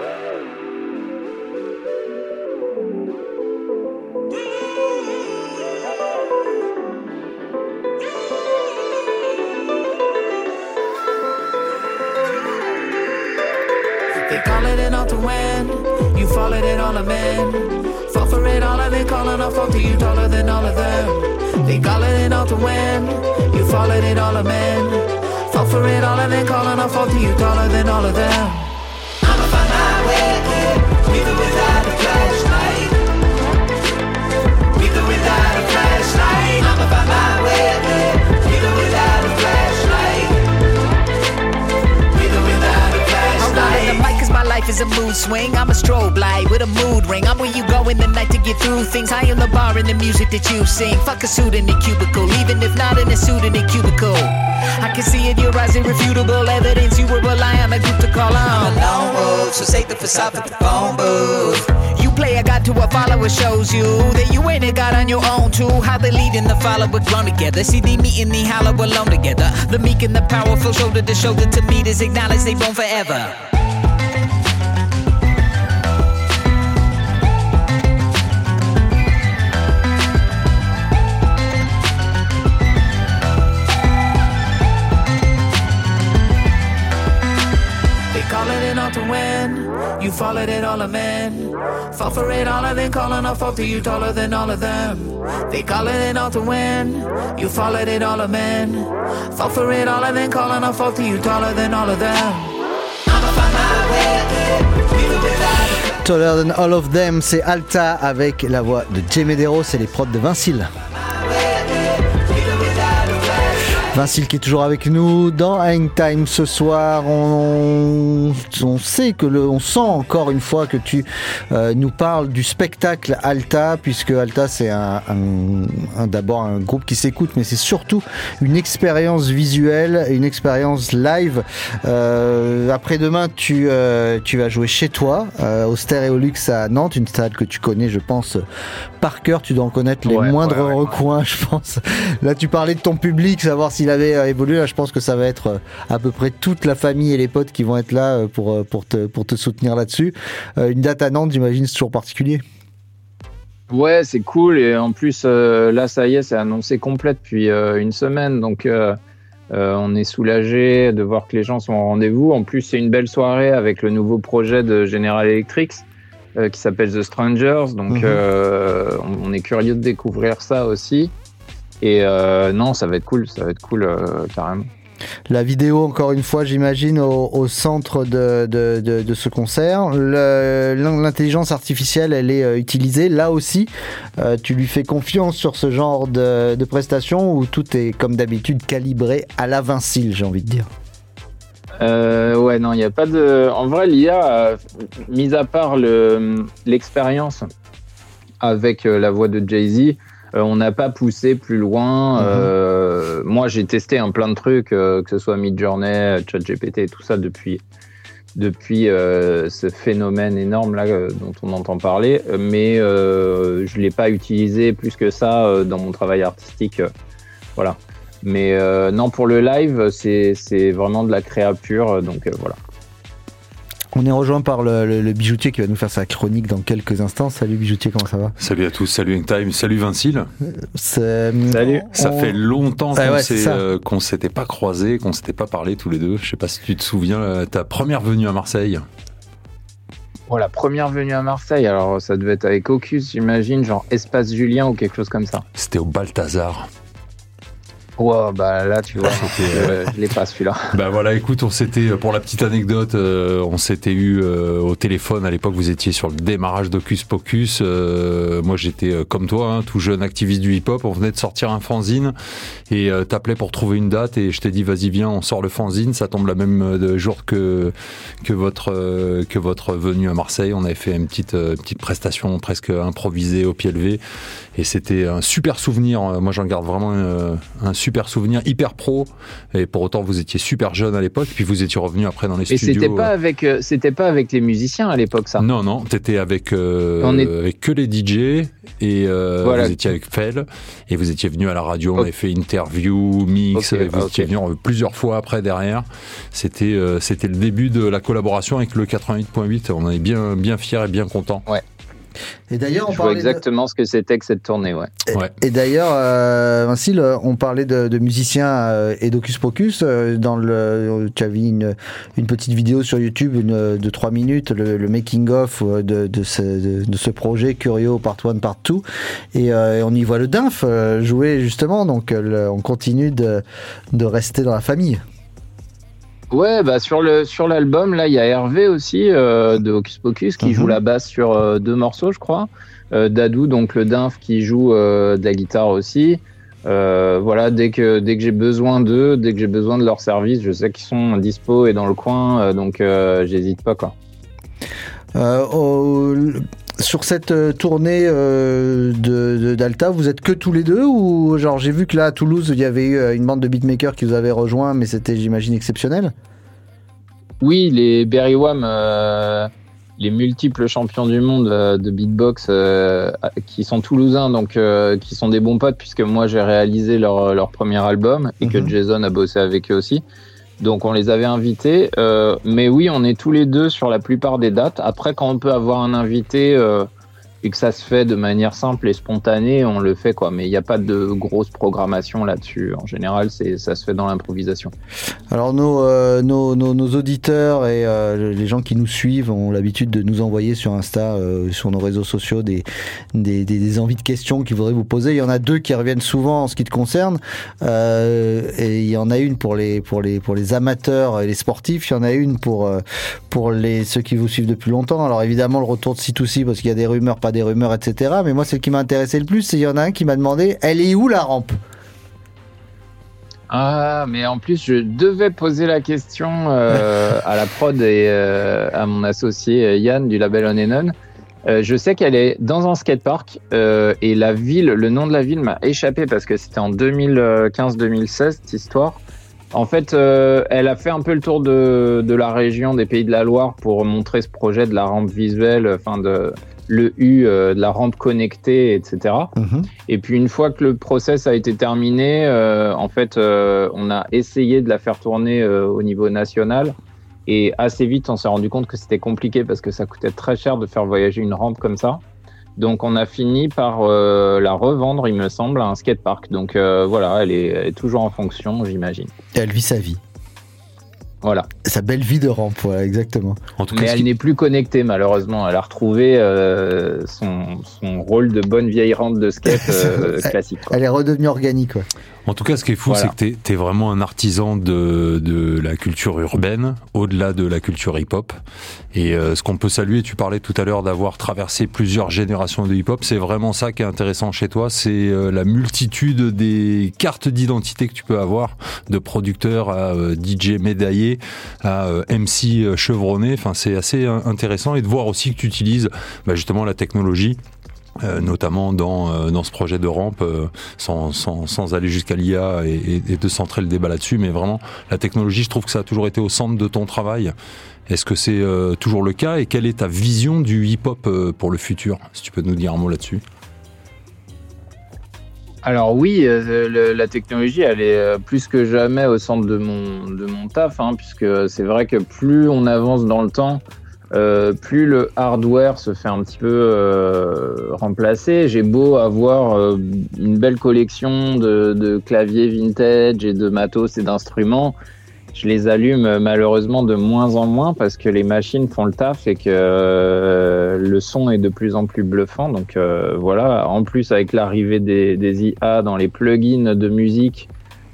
Speaker 9: They call it an all to win. You fall it all a man. Fall for it all and they calling off to you taller than all of them. They call it an all to win. You fall it all a man. Fall for it all and then calling off to you taller than all of them. I'ma find my way, with or without a flashlight. With or without a flashlight. I'ma find my way, with or without a flashlight. With or without a flashlight. The mic is my life is a mood swing. I'm a strobe light with a mood ring. I'm where you go in the night to get through things. I am the bar in the music that you sing. Fuck a suit in the cubicle, even if not in a suit in the cubicle. I can see in your eyes irrefutable evidence you will rely on a group to call on. I'm a lone wolf, so save the facade for the phone booth. You play a god to a follower shows you that you ain't a god on your own too. How the lead and the follower grown together. See they meet and they hollow alone together. The meek and the powerful shoulder to shoulder to meet is acknowledge they born forever. To win, you followed it all a man. Fall for it all and then calling off to you taller than all of them. They call it an all to win, you followed it all a man. Fall for it all and then calling off to you taller than all of them. I'ma find my way, with or without.
Speaker 14: Taller than all of them, c'est Alta avec la voix de Jay Medeiros et les prods de Vincile. Vincile qui est toujours avec nous dans Hang Time ce soir. On, on sait que le, on sent encore une fois que tu euh, nous parles du spectacle Alta, puisque Alta c'est un, un, un, d'abord un groupe qui s'écoute, mais c'est surtout une expérience visuelle, une expérience live. Euh, après-demain, tu, euh, tu vas jouer chez toi euh, au Stéréolux à Nantes, une salle que tu connais, je pense, par cœur. Tu dois en connaître les ouais, moindres ouais, ouais. recoins, je pense. Là, tu parlais de ton public, savoir s'il avait évolué. Là, je pense que ça va être à peu près toute la famille et les potes qui vont être là pour, pour, te, pour te soutenir là-dessus. Une date à Nantes, j'imagine, c'est toujours particulier.
Speaker 17: Ouais, c'est cool. Et en plus, euh, là, ça y est, c'est annoncé complet depuis euh, une semaine. Donc, euh, euh, on est soulagé de voir que les gens sont au rendez-vous. En plus, c'est une belle soirée avec le nouveau projet de General Electric euh, qui s'appelle The Strangers. Donc, mm-hmm. euh, on, on est curieux de découvrir ça aussi. Et euh, non, ça va être cool, ça va être cool euh, carrément.
Speaker 14: La vidéo, encore une fois, j'imagine, au, au centre de, de, de, de ce concert. Le, l'intelligence artificielle, elle est euh, utilisée. Là aussi, euh, tu lui fais confiance sur ce genre de, de prestations où tout est, comme d'habitude, calibré à la Vincile, j'ai envie de dire.
Speaker 17: Euh, ouais, non, il n'y a pas de... En vrai, l'I A, euh, mis à part le, l'expérience avec euh, la voix de Jay-Z, Euh, on n'a pas poussé plus loin. Euh, mmh. Moi, j'ai testé un plein de trucs, euh, que ce soit Midjourney, ChatGPT et tout ça depuis, depuis euh, ce phénomène énorme là euh, dont on entend parler. Mais euh, je l'ai pas utilisé plus que ça euh, dans mon travail artistique. Euh, voilà. Mais euh, non, pour le live, c'est, c'est vraiment de la créa pure. Donc euh, voilà.
Speaker 14: On est rejoint par le, le, le bijoutier qui va nous faire sa chronique dans quelques instants. Salut bijoutier, comment ça va ?
Speaker 18: Salut à tous, salut Hangtime, salut Vincile.
Speaker 14: C'est...
Speaker 17: Salut.
Speaker 18: Ça
Speaker 14: on...
Speaker 18: fait longtemps
Speaker 14: ah
Speaker 18: qu'on,
Speaker 14: ouais,
Speaker 18: s'est, euh, qu'on s'était pas croisés, qu'on s'était pas parlé tous les deux. Je sais pas si tu te souviens, euh, ta première venue à Marseille.
Speaker 17: Oh, la première venue à Marseille, alors ça devait être avec Ocus, j'imagine, genre Espace Julien ou quelque chose comme ça.
Speaker 18: C'était au Balthazar.
Speaker 17: Wow, bah là, tu vois, euh, je l'ai pas celui-là.
Speaker 18: Bah voilà, écoute, on s'était, pour la petite anecdote, euh, on s'était eu euh, au téléphone. À l'époque, vous étiez sur le démarrage d'Hocus Pocus. Euh, moi, j'étais euh, comme toi, hein, tout jeune activiste du hip-hop. On venait de sortir un fanzine et euh, t'appelais pour trouver une date et je t'ai dit, vas-y, viens, on sort le fanzine. Ça tombe la même euh, jour que que votre euh, que votre venue à Marseille. On avait fait une petite euh, petite prestation presque improvisée au pied levé et c'était un super souvenir. Moi, j'en garde vraiment un, un super souvenir, hyper pro. Et pour autant, vous étiez super jeune à l'époque, puis vous étiez revenu après dans les
Speaker 17: Et
Speaker 18: studios.
Speaker 17: c'était pas avec, euh, c'était pas avec les musiciens à l'époque, ça.
Speaker 18: Non, non, t'étais avec, euh,
Speaker 17: On est-
Speaker 18: avec que les D J et euh,
Speaker 17: Voilà.
Speaker 18: vous étiez avec Fel et vous étiez venu à la radio. On avait fait interview, mix.
Speaker 17: Ok,
Speaker 18: et vous
Speaker 17: ah,
Speaker 18: étiez
Speaker 17: ok.
Speaker 18: venu plusieurs fois après derrière. C'était, euh, c'était le début de la collaboration avec le quatre-vingt-huit point huit. On en est bien, bien fiers et bien contents.
Speaker 17: Ouais.
Speaker 14: Et d'ailleurs, on
Speaker 17: Je vois
Speaker 14: parlait de-
Speaker 17: exactement ce que c'était que cette tournée, ouais.
Speaker 14: Et, et d'ailleurs, euh, Vincile, on parlait de, de musiciens euh, et d'Hocus Pocus. euh, Dans le, tu as vu une, une petite vidéo sur YouTube une, de trois minutes, le, le making-of de, de, ce, de, de ce projet Curio Part un, Part deux. Et, euh, et on y voit le Dinf euh, jouer justement. Donc euh, le- on continue de, de rester dans la famille.
Speaker 17: Ouais, bah sur le sur l'album là, il y a Hervé aussi euh, de Hocus Pocus qui
Speaker 14: Mhm.
Speaker 17: joue la basse sur euh, deux morceaux, je crois. Euh, Dadou, donc le Dinf qui joue euh, de la guitare aussi. Euh, voilà, dès que dès que j'ai besoin d'eux, dès que j'ai besoin de leur service, je sais qu'ils sont dispo et dans le coin, euh, donc euh, j'hésite pas quoi.
Speaker 14: Euh, au- sur cette euh, tournée euh, de, de- d'Alta, vous êtes que tous les deux ou genre j'ai vu que là à Toulouse il y avait eu euh, une bande de beatmakers qui vous avait rejoint, mais c'était j'imagine exceptionnel.
Speaker 17: Oui, les Berry Wham, euh, les multiples champions du monde euh, de beatbox euh, qui sont toulousains, donc euh, qui sont des bons potes puisque moi j'ai réalisé leur, leur premier album et que
Speaker 14: Mhm.
Speaker 17: Jason a bossé avec eux aussi. Donc on les avait invités, euh, mais oui, on est tous les deux sur la plupart des dates. Après, quand on peut avoir un invité euh, et que ça se fait de manière simple et spontanée, on le fait quoi. Mais il n'y a pas de grosse programmation là-dessus. En général, c'est ça se fait dans l'improvisation.
Speaker 14: Alors nos, euh, nos, nos, nos auditeurs et euh, les gens qui nous suivent ont l'habitude de nous envoyer sur Insta, euh, sur nos réseaux sociaux, des, des, des, des envies de questions qu'ils voudraient vous poser. Il y en a deux qui reviennent souvent en ce qui te concerne, euh, et il y en a une pour les, pour les, pour les amateurs et les sportifs. Il y en a une pour, euh, pour les, ceux qui vous suivent depuis longtemps. Alors évidemment le retour de C deux C parce qu'il y a des rumeurs, pas des rumeurs, et cetera. Mais moi celle qui m'a intéressé le plus, c'est il y en a un qui m'a demandé, elle est où la rampe?
Speaker 17: Ah, mais en plus, je devais poser la question euh, à la prod et euh, à mon associé euh, Yann du label On and On. Euh, je sais qu'elle est dans un skatepark euh, et la ville, le nom de la ville m'a échappé parce que c'était en deux mille quinze deux mille seize cette histoire. En fait, euh, elle a fait un peu le tour de, de la région des Pays de la Loire pour montrer ce projet de la rampe visuelle, enfin de le U, euh, de la rampe connectée, et cetera.
Speaker 14: Mhm.
Speaker 17: Et puis une fois que le process a été terminé, euh, en fait, euh, on a essayé de la faire tourner euh, au niveau national. Et assez vite, on s'est rendu compte que c'était compliqué parce que ça coûtait très cher de faire voyager une rampe comme ça. Donc on a fini par euh, la revendre, il me semble, à un skatepark. Donc euh, voilà, elle est, elle est toujours en fonction, j'imagine.
Speaker 14: Et elle vit sa vie.
Speaker 17: Voilà.
Speaker 14: Sa belle vie de rampe, voilà, exactement.
Speaker 18: En tout
Speaker 17: Mais
Speaker 18: cas,
Speaker 17: elle n'est plus connectée, malheureusement. Elle a retrouvé euh, son, son rôle de bonne vieille rampe de skate euh, classique. Quoi.
Speaker 14: Elle est redevenue organique, ouais.
Speaker 18: En tout cas, ce qui est fou,
Speaker 17: Voilà.
Speaker 18: c'est que t'es, t'es vraiment un artisan de, de la culture urbaine, au-delà de la culture hip-hop. Et euh, ce qu'on peut saluer, tu parlais tout à l'heure d'avoir traversé plusieurs générations de hip-hop, c'est vraiment ça qui est intéressant chez toi, c'est euh, la multitude des cartes d'identité que tu peux avoir, de producteurs à euh, D J médaillé, à euh, M C chevronné. Enfin, c'est assez euh, intéressant, et de voir aussi que tu utilises bah, justement la technologie. Euh, notamment dans, euh, dans ce projet de rampe, euh, sans, sans, sans aller jusqu'à l'I A et, et, et de centrer le débat là-dessus, mais vraiment, la technologie, je trouve que ça a toujours été au centre de ton travail. Est-ce que c'est euh, toujours le cas, et quelle est ta vision du hip-hop euh, pour le futur? Si tu peux nous dire un mot là-dessus.
Speaker 17: Alors oui, euh, le, la technologie, elle est euh, plus que jamais au centre de mon, de mon taf, hein, puisque c'est vrai que plus on avance dans le temps, Euh, plus le hardware se fait un petit peu euh, remplacer. J'ai beau avoir euh, une belle collection de, de claviers vintage et de matos et d'instruments, je les allume malheureusement de moins en moins parce que les machines font le taf et que euh, le son est de plus en plus bluffant. Donc euh, voilà, en plus avec l'arrivée des, des I A dans les plugins de musique,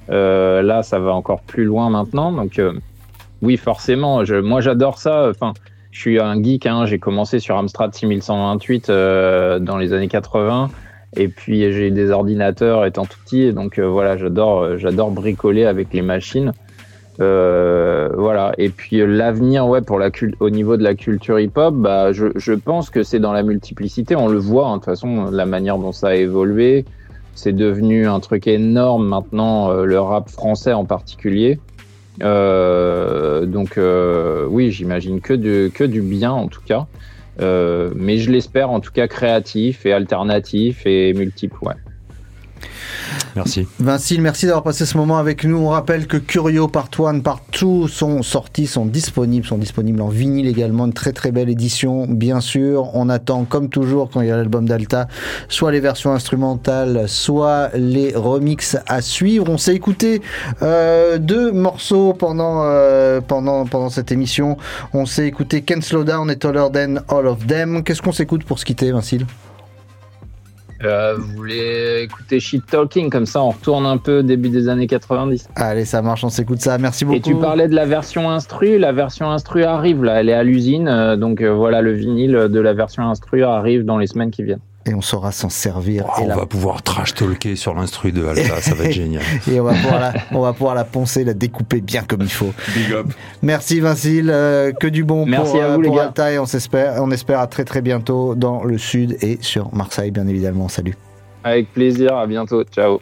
Speaker 17: Euh, là, ça va encore plus loin maintenant. Donc, euh, oui, forcément. Je, moi, j'adore ça. Enfin, je suis un geek. Hein, j'ai commencé sur Amstrad six mille cent vingt-huit euh, dans les années quatre-vingts. Et puis, j'ai eu des ordinateurs étant tout petit. Donc, euh, voilà, j'adore, j'adore bricoler avec les machines. Euh, voilà. Et puis, euh, l'avenir, ouais, pour la cul- au niveau de la culture hip-hop, bah, je, je pense que c'est dans la multiplicité. On le voit, hein, de toute façon, la manière dont ça a évolué. C'est devenu un truc énorme maintenant, euh, le rap français en particulier. Euh, donc euh, oui, j'imagine que du, que du bien en tout cas. Euh, mais je l'espère en tout cas créatif et alternatif et multiple, ouais.
Speaker 18: Merci.
Speaker 14: Vincile, merci d'avoir passé ce moment avec nous. On rappelle que Curio, Part un, Part deux sont sortis, sont disponibles, sont disponibles en vinyle également. Une très très belle édition, bien sûr. On attend, comme toujours, quand il y a l'album d'Alta, soit les versions instrumentales, soit les remixes à suivre. On s'est écouté euh, deux morceaux pendant, euh, pendant, pendant cette émission. On s'est écouté Can't Slow Down et Taller Than All of Them. Qu'est-ce qu'on s'écoute pour se quitter, Vincile ?
Speaker 17: Euh, vous voulez écouter Shit Talking, comme ça on retourne un peu début des années quatre-vingt-dix.
Speaker 14: Allez, ça marche, on s'écoute ça. Merci beaucoup.
Speaker 17: Et tu parlais de la version instru. La version instru arrive là, elle est à l'usine. Euh, donc euh, voilà, le vinyle de la version instru arrive dans les semaines qui viennent.
Speaker 14: Et on saura s'en servir.
Speaker 18: Oh,
Speaker 14: et
Speaker 18: on
Speaker 14: la...
Speaker 18: va pouvoir trash talker sur l'instru de Alta, ça va être génial.
Speaker 14: Et on va, pouvoir la, on va pouvoir la poncer, la découper bien comme il faut.
Speaker 18: Big up.
Speaker 14: Merci Vincile, euh, que du bon
Speaker 17: Merci
Speaker 14: pour,
Speaker 17: à vous,
Speaker 14: euh, pour
Speaker 17: les gars.
Speaker 14: Alta et on espère, on espère à très très bientôt dans le sud et sur Marseille bien évidemment. Salut.
Speaker 17: Avec plaisir, à bientôt, ciao.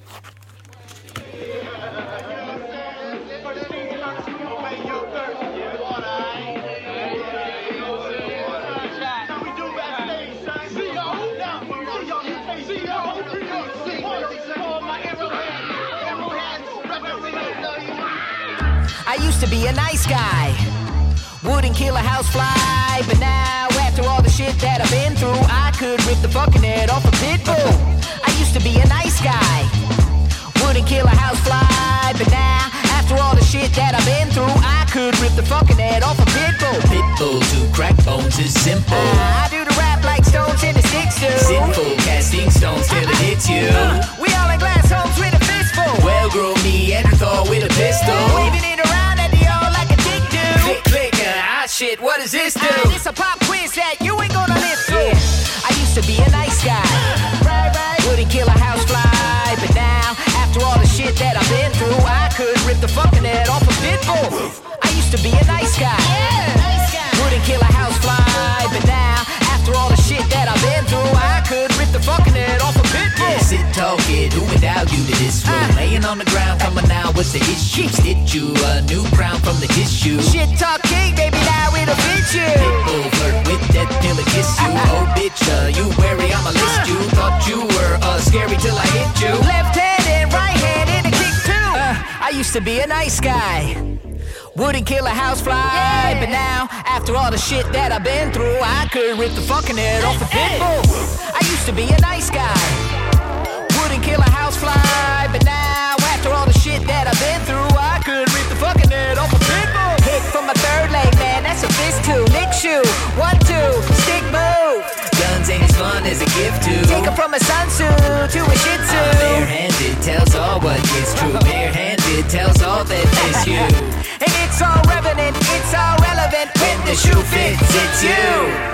Speaker 9: I used to be a nice guy, wouldn't kill a housefly, but now after all the shit that I've been through, I could rip the fucking head off a pit bull. I used to be a nice guy, wouldn't kill a housefly, but now after all the shit that I've been through, I could rip the fucking head off a pit bull.
Speaker 12: Pit bull to crack bones is simple.
Speaker 9: Uh, I do the rap like stones in the sticks do.
Speaker 12: Sinful casting stones till it hits you.
Speaker 9: Uh, we all in glass homes with a fistful.
Speaker 12: Well grown Neanderthal with a pistol.
Speaker 9: Waving it around at the all like a dick do.
Speaker 12: Click click, uh, ah shit, what does this do?
Speaker 9: Uh, this a pop quiz that you ain't gonna live through. Yeah. I used to be a nice guy, right, right. Wouldn't kill a housefly, but now after all the shit that I've been through, I could rip the fucking head off a pit bull. I used to be a nice guy, yeah, nice guy. Wouldn't kill a housefly, but now after all the shit that I've been through, I could rip the fucking head off a pit bull.
Speaker 12: Yeah, sit talking, who endowed you to this room? Uh, Laying on the ground, coming out, what's the issue? Stitch you a new crown from the tissue.
Speaker 9: Shit talk king, baby, now it'll fit you.
Speaker 12: Pitbull flirt with that till it kiss you. Uh-huh. Oh bitch, uh, you wary, I'ma list you. Thought you were uh, scary till I hit you.
Speaker 9: Left hand and right hand in a kick too. Uh, I used to be a nice guy, wouldn't kill a housefly, yeah. But now, after all the shit that I've been through, I could rip the fucking head off a pit bull. I used to be a nice guy, wouldn't kill a housefly, but now, after all the shit that I've been through, I could rip the fucking head off a pit bull. Hit from my third leg, man, that's a fist two. Lick shoe, one, two, stick move.
Speaker 12: Guns ain't as fun as a gift to.
Speaker 9: Take her from a sun suit to a shih tzu.
Speaker 12: I'm barehanded, tells all what is true. Barehanded, tells all that is you.
Speaker 9: And it's all revenant, it's all relevant.
Speaker 12: When the shoe fits, it's you.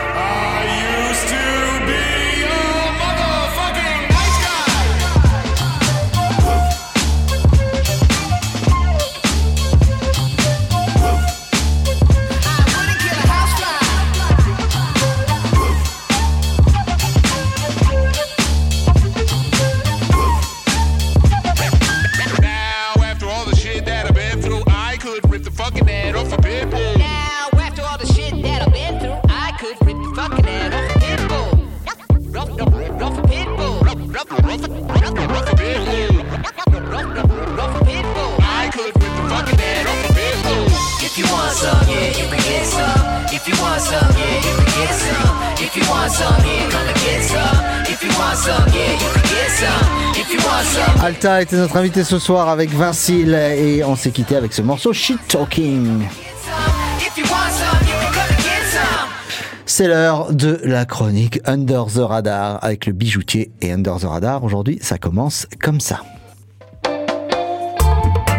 Speaker 2: I used to be a motherfucking nice guy.
Speaker 9: I wouldn't kill a housefly.
Speaker 2: Now, after all the shit that I've been through, I could rip the fucking head off a pit bull.
Speaker 9: Now, after all the shit that I've been through, I could rip the fucking head off a pit bull. Rough, rough, rough a pit bull. Rough, rough, rough, rough, rough a pit bull. Rough, rough, rough a pit bull.
Speaker 2: I could rip the fucking head off a pit bull.
Speaker 12: If you want some, yeah, you can get some. If you want some, yeah, you can get some. If you want some, yeah, come and get some. If you want some, yeah, you can get some. If you want some.
Speaker 14: Alta était notre invité ce soir avec Vincile et on s'est quitté avec ce morceau Shit Talking.
Speaker 12: If you want some, you can come and get some.
Speaker 14: C'est l'heure de la chronique Under the Radar avec le bijoutier et Under the Radar. Aujourd'hui, ça commence comme ça.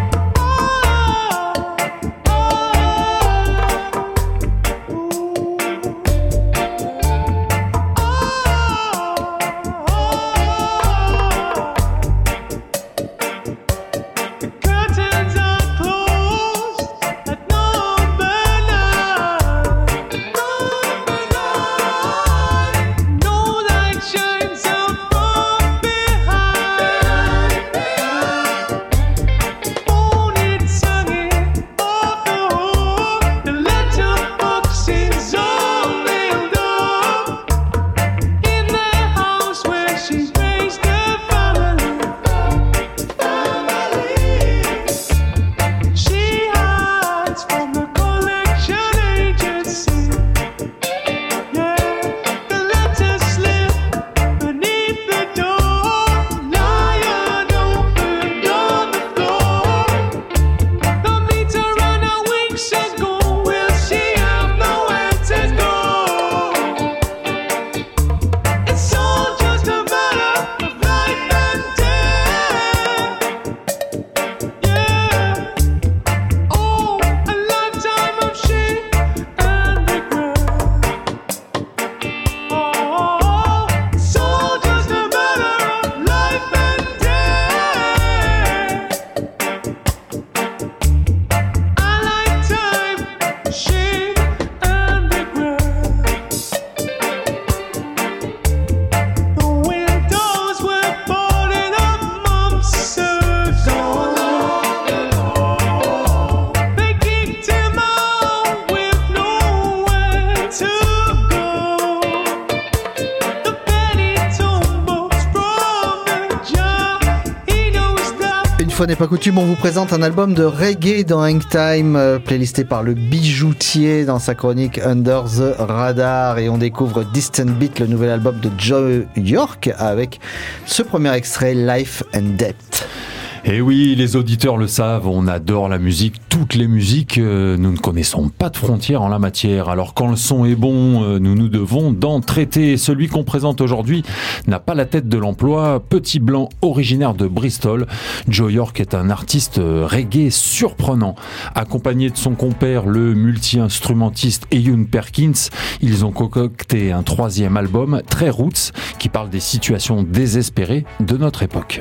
Speaker 14: fois n'est pas coutume, on vous présente un album de reggae dans Hang Time, euh, playlisté par le bijoutier dans sa chronique Under the Radar, et on découvre Distant Beat, le nouvel album de Joe York, avec ce premier extrait, Life and Death.
Speaker 18: Et oui, les auditeurs le savent, on adore la musique, toutes les musiques, euh, nous ne connaissons pas de frontières en la matière. Alors quand le son est bon, euh, nous nous devons d'en traiter. Celui qu'on présente aujourd'hui n'a pas la tête de l'emploi. Petit blanc originaire de Bristol, Joe York est un artiste reggae surprenant. Accompagné de son compère, le multi-instrumentiste Ewan Perkins, ils ont concocté un troisième album, très roots, qui parle des situations désespérées de notre époque.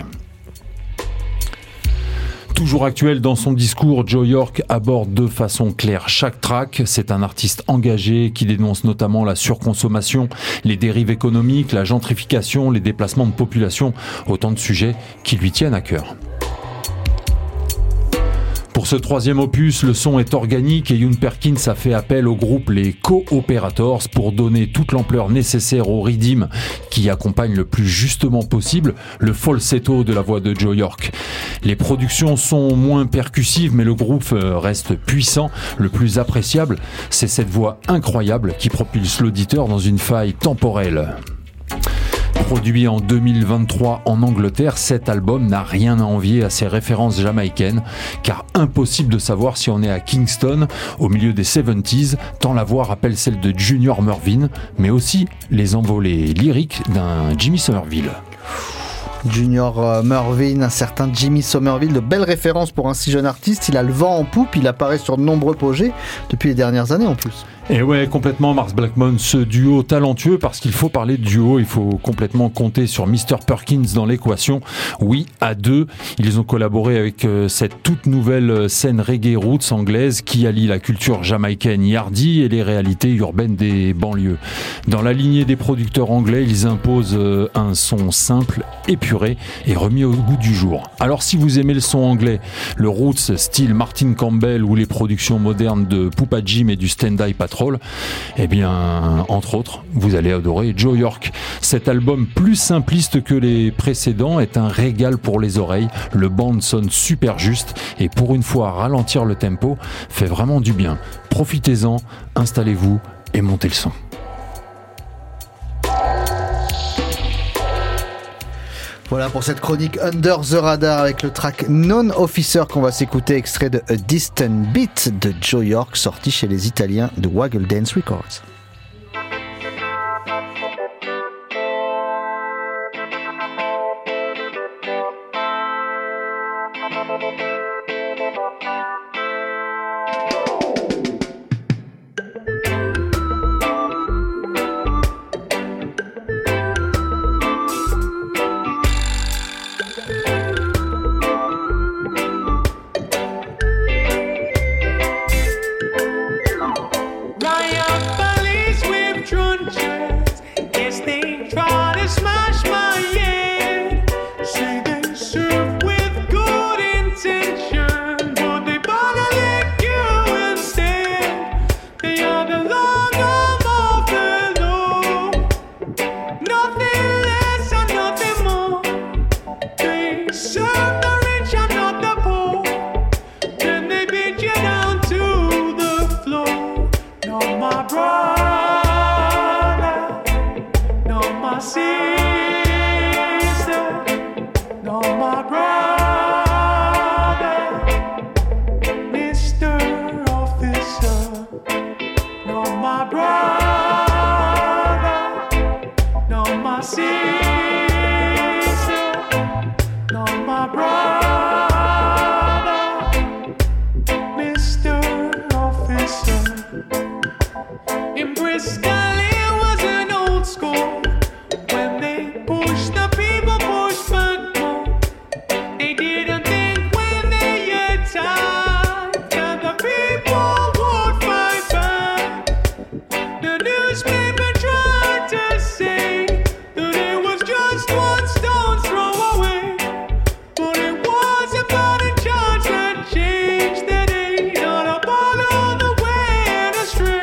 Speaker 18: Toujours actuel dans son discours, Joe York aborde de façon claire chaque track. C'est un artiste engagé qui dénonce notamment la surconsommation, les dérives économiques, la gentrification, les déplacements de population, autant de sujets qui lui tiennent à cœur. Pour ce troisième opus, le son est organique et Ewan Perkins a fait appel au groupe les Co-Operators pour donner toute l'ampleur nécessaire au rhythm qui accompagne le plus justement possible le falsetto de la voix de Joe York. Les productions sont moins percussives mais le groupe reste puissant. Le plus appréciable, c'est cette voix incroyable qui propulse l'auditeur dans une faille temporelle. Produit en deux mille vingt-trois en Angleterre, cet album n'a rien à envier à ses références jamaïcaines, car impossible de savoir si on est à Kingston, au milieu des soixante-dix, tant la voix rappelle celle de Junior Murvin, mais aussi les envolées lyriques d'un Jimmy Somerville.
Speaker 14: Junior Murvin, un certain Jimmy Somerville, de belles références pour un si jeune artiste. Il a le vent en poupe, il apparaît sur de nombreux projets depuis les dernières années en plus.
Speaker 18: Et ouais, complètement Mars Blackmon, ce duo talentueux, parce qu'il faut parler de duo, il faut complètement compter sur mister Perkins dans l'équation. Oui, à deux, ils ont collaboré avec euh, cette toute nouvelle scène reggae roots anglaise qui allie la culture jamaïcaine yardy et les réalités urbaines des banlieues. Dans la lignée des producteurs anglais, ils imposent euh, un son simple, épuré et remis au goût du jour. Alors si vous aimez le son anglais, le roots style Martin Campbell ou les productions modernes de Poupa Jim et du Stand-Eye Patrol, eh bien, entre autres, vous allez adorer Joe York. Cet album, plus simpliste que les précédents, est un régal pour les oreilles. Le band sonne super juste et pour une fois, ralentir le tempo fait vraiment du bien. Profitez-en, installez-vous et montez le son.
Speaker 14: Voilà pour cette chronique Under the Radar avec le track Non-Officer qu'on va s'écouter, extrait de A Distant Beat de Joe York, sorti chez les Italiens de Waggle Dance Records.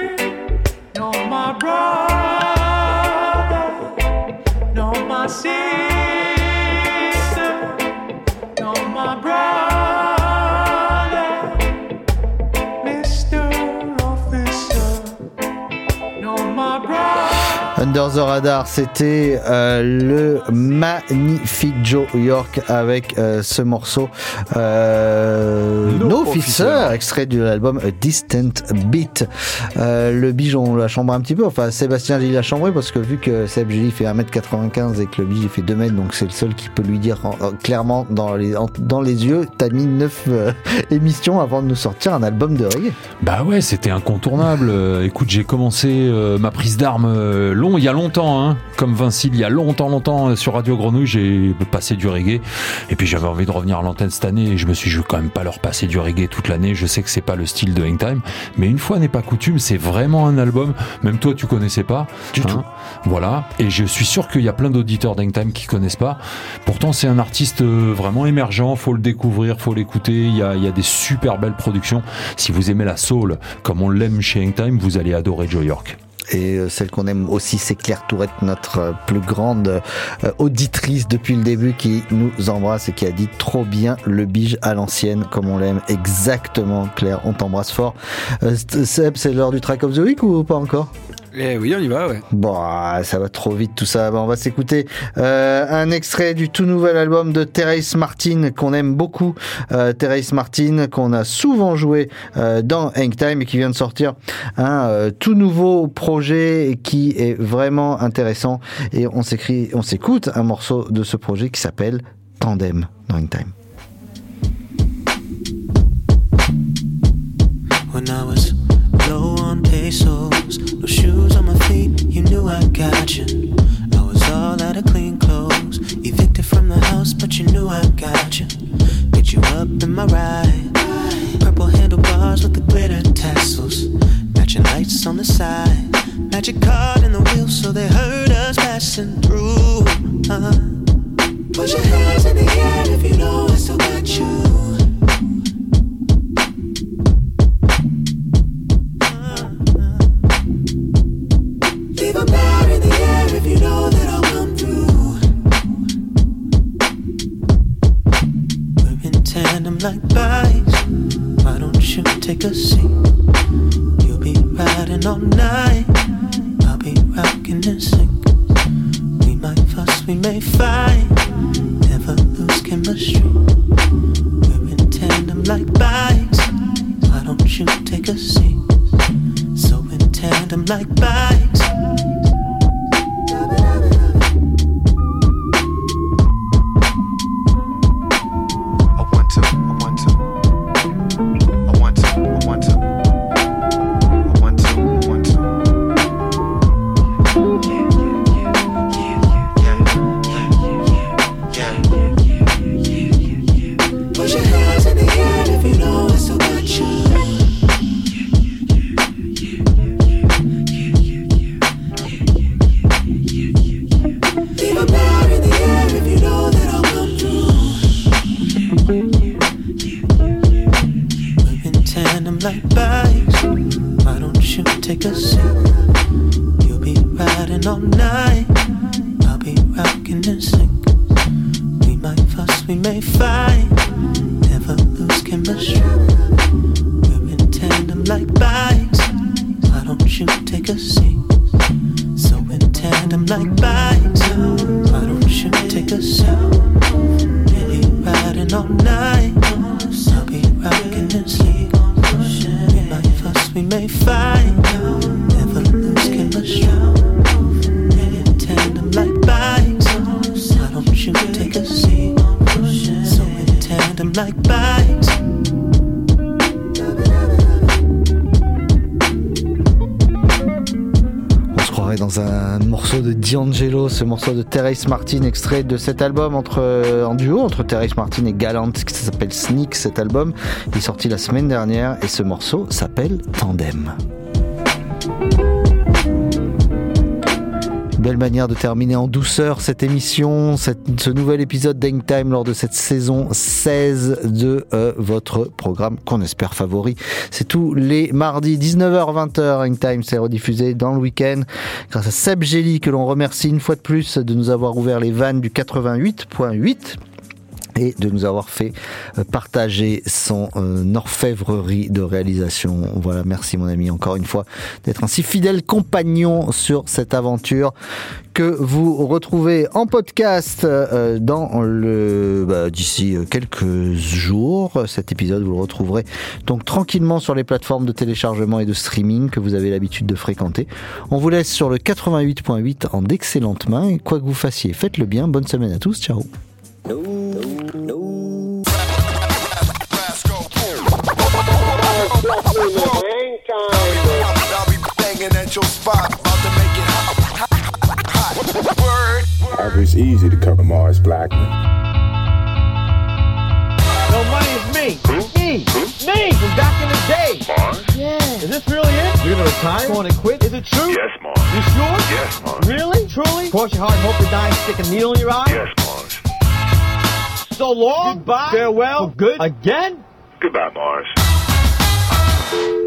Speaker 2: See
Speaker 14: Under the Radar, c'était euh, le magnifique Joe York avec euh, ce morceau euh, No, no Officer, Officer, extrait de l'album A Distant Beat. Euh, le Bige, on l'a chambré un petit peu, enfin Sébastien Gilly l'a chambré parce que vu que Seb Gilly fait un mètre quatre-vingt-quinze et que le Bige fait deux mètres, donc c'est le seul qui peut lui dire en, en, clairement dans les, en, dans les yeux, t'as mis neuf euh, émissions avant de nous sortir un album de reggae.
Speaker 18: Bah ouais, c'était incontournable. Euh, écoute, j'ai commencé euh, ma prise d'armes euh, long, il y a longtemps, hein, comme Vincile, il y a longtemps, longtemps, euh, sur Radio Grenouille, j'ai passé du reggae. Et puis j'avais envie de revenir à l'antenne cette année et je me suis dit, je vais quand même pas leur passer du reggae toute l'année. Je sais que c'est pas le style de Hangtime, mais une fois n'est pas coutume, c'est vraiment un album. Même toi, tu connaissais pas.
Speaker 14: Du hein, tout.
Speaker 18: Voilà. Et je suis sûr qu'il y a plein d'auditeurs d'Hangtime qui connaissent pas. Pourtant, c'est un artiste euh, vraiment émergent. Faut le découvrir, faut l'écouter. Il y a, il y a des super belles productions. Si vous aimez la soul, comme on l'aime chez Hangtime, vous allez adorer Joe York.
Speaker 14: Et celle qu'on aime aussi, c'est Claire Tourette, notre plus grande euh, auditrice depuis le début, qui nous embrasse et qui a dit trop bien le Bige à l'ancienne, comme on l'aime. Exactement, Claire, on t'embrasse fort. Euh, Seb, c'est l'heure du track of the week ou pas encore ?
Speaker 15: Eh oui, on y va, ouais.
Speaker 14: Bon, ça va trop vite tout ça. Bon, on va s'écouter euh, un extrait du tout nouvel album de Terrace Martin qu'on aime beaucoup. Euh, Terrace Martin qu'on a souvent joué euh, dans Hangtime et qui vient de sortir un euh, tout nouveau projet qui est vraiment intéressant. Et on s'écrit, on s'écoute un morceau de ce projet qui s'appelle Tandem dans Hangtime.
Speaker 19: When I was low on pesos, no shoes on my feet, you knew I got you. I was all out of clean clothes, evicted from the house, but you knew I got you. Get you up in my ride, purple handlebars with the glitter tassels, matching lights on the side, magic card in the wheel so they heard us passing through. uh. Put your hands in the air if you know I still got you. Leave a bar in the air if you know that I'll come through. We're in tandem like bikes. Why don't you take a seat? You'll be riding all night, I'll be rocking in sync. We might fuss, we may fight, never lose chemistry. We're in tandem like bikes. Why don't you take a seat? So in tandem like bikes.
Speaker 14: D'Angelo, ce morceau de Terrace Martin, extrait de cet album entre, euh, en duo entre Terrace Martin et Gallant, qui s'appelle Sneak. Cet album est sorti la semaine dernière et ce morceau s'appelle Tandem. Belle manière de terminer en douceur cette émission, cette, ce nouvel épisode d'Hangtime lors de cette saison seize de euh, votre programme qu'on espère favori. C'est tous les mardis dix-neuf heures vingt heures. Hangtime c'est rediffusé dans le week-end grâce à Seb Gély que l'on remercie une fois de plus de nous avoir ouvert les vannes du quatre-vingt-huit point huit. et de nous avoir fait partager son euh, orfèvrerie de réalisation. Voilà, merci mon ami encore une fois d'être un si fidèle compagnon sur cette aventure que vous retrouvez en podcast euh, dans le bah, d'ici quelques jours. Cet épisode vous le retrouverez donc tranquillement sur les plateformes de téléchargement et de streaming que vous avez l'habitude de fréquenter. On vous laisse sur le quatre-vingt-huit point huit en d'excellentes mains et quoi que vous fassiez, faites-le bien. Bonne semaine à tous, ciao.
Speaker 5: No, no.
Speaker 20: It's easy to cover Mars Blackman.
Speaker 3: No, money is me. Me. Me from back in the day.
Speaker 2: Mars?
Speaker 3: Yeah. Is this really it? You're gonna retire? Going to quit? Is it true?
Speaker 2: Yes, Mars.
Speaker 3: You sure?
Speaker 2: Yes, Mars.
Speaker 3: Really? Truly? Cross your heart and hope to die and stick a needle in your eye?
Speaker 2: Yes, Mars.
Speaker 3: So long. Goodbye. Farewell. For good. Again?
Speaker 2: Goodbye, Mars.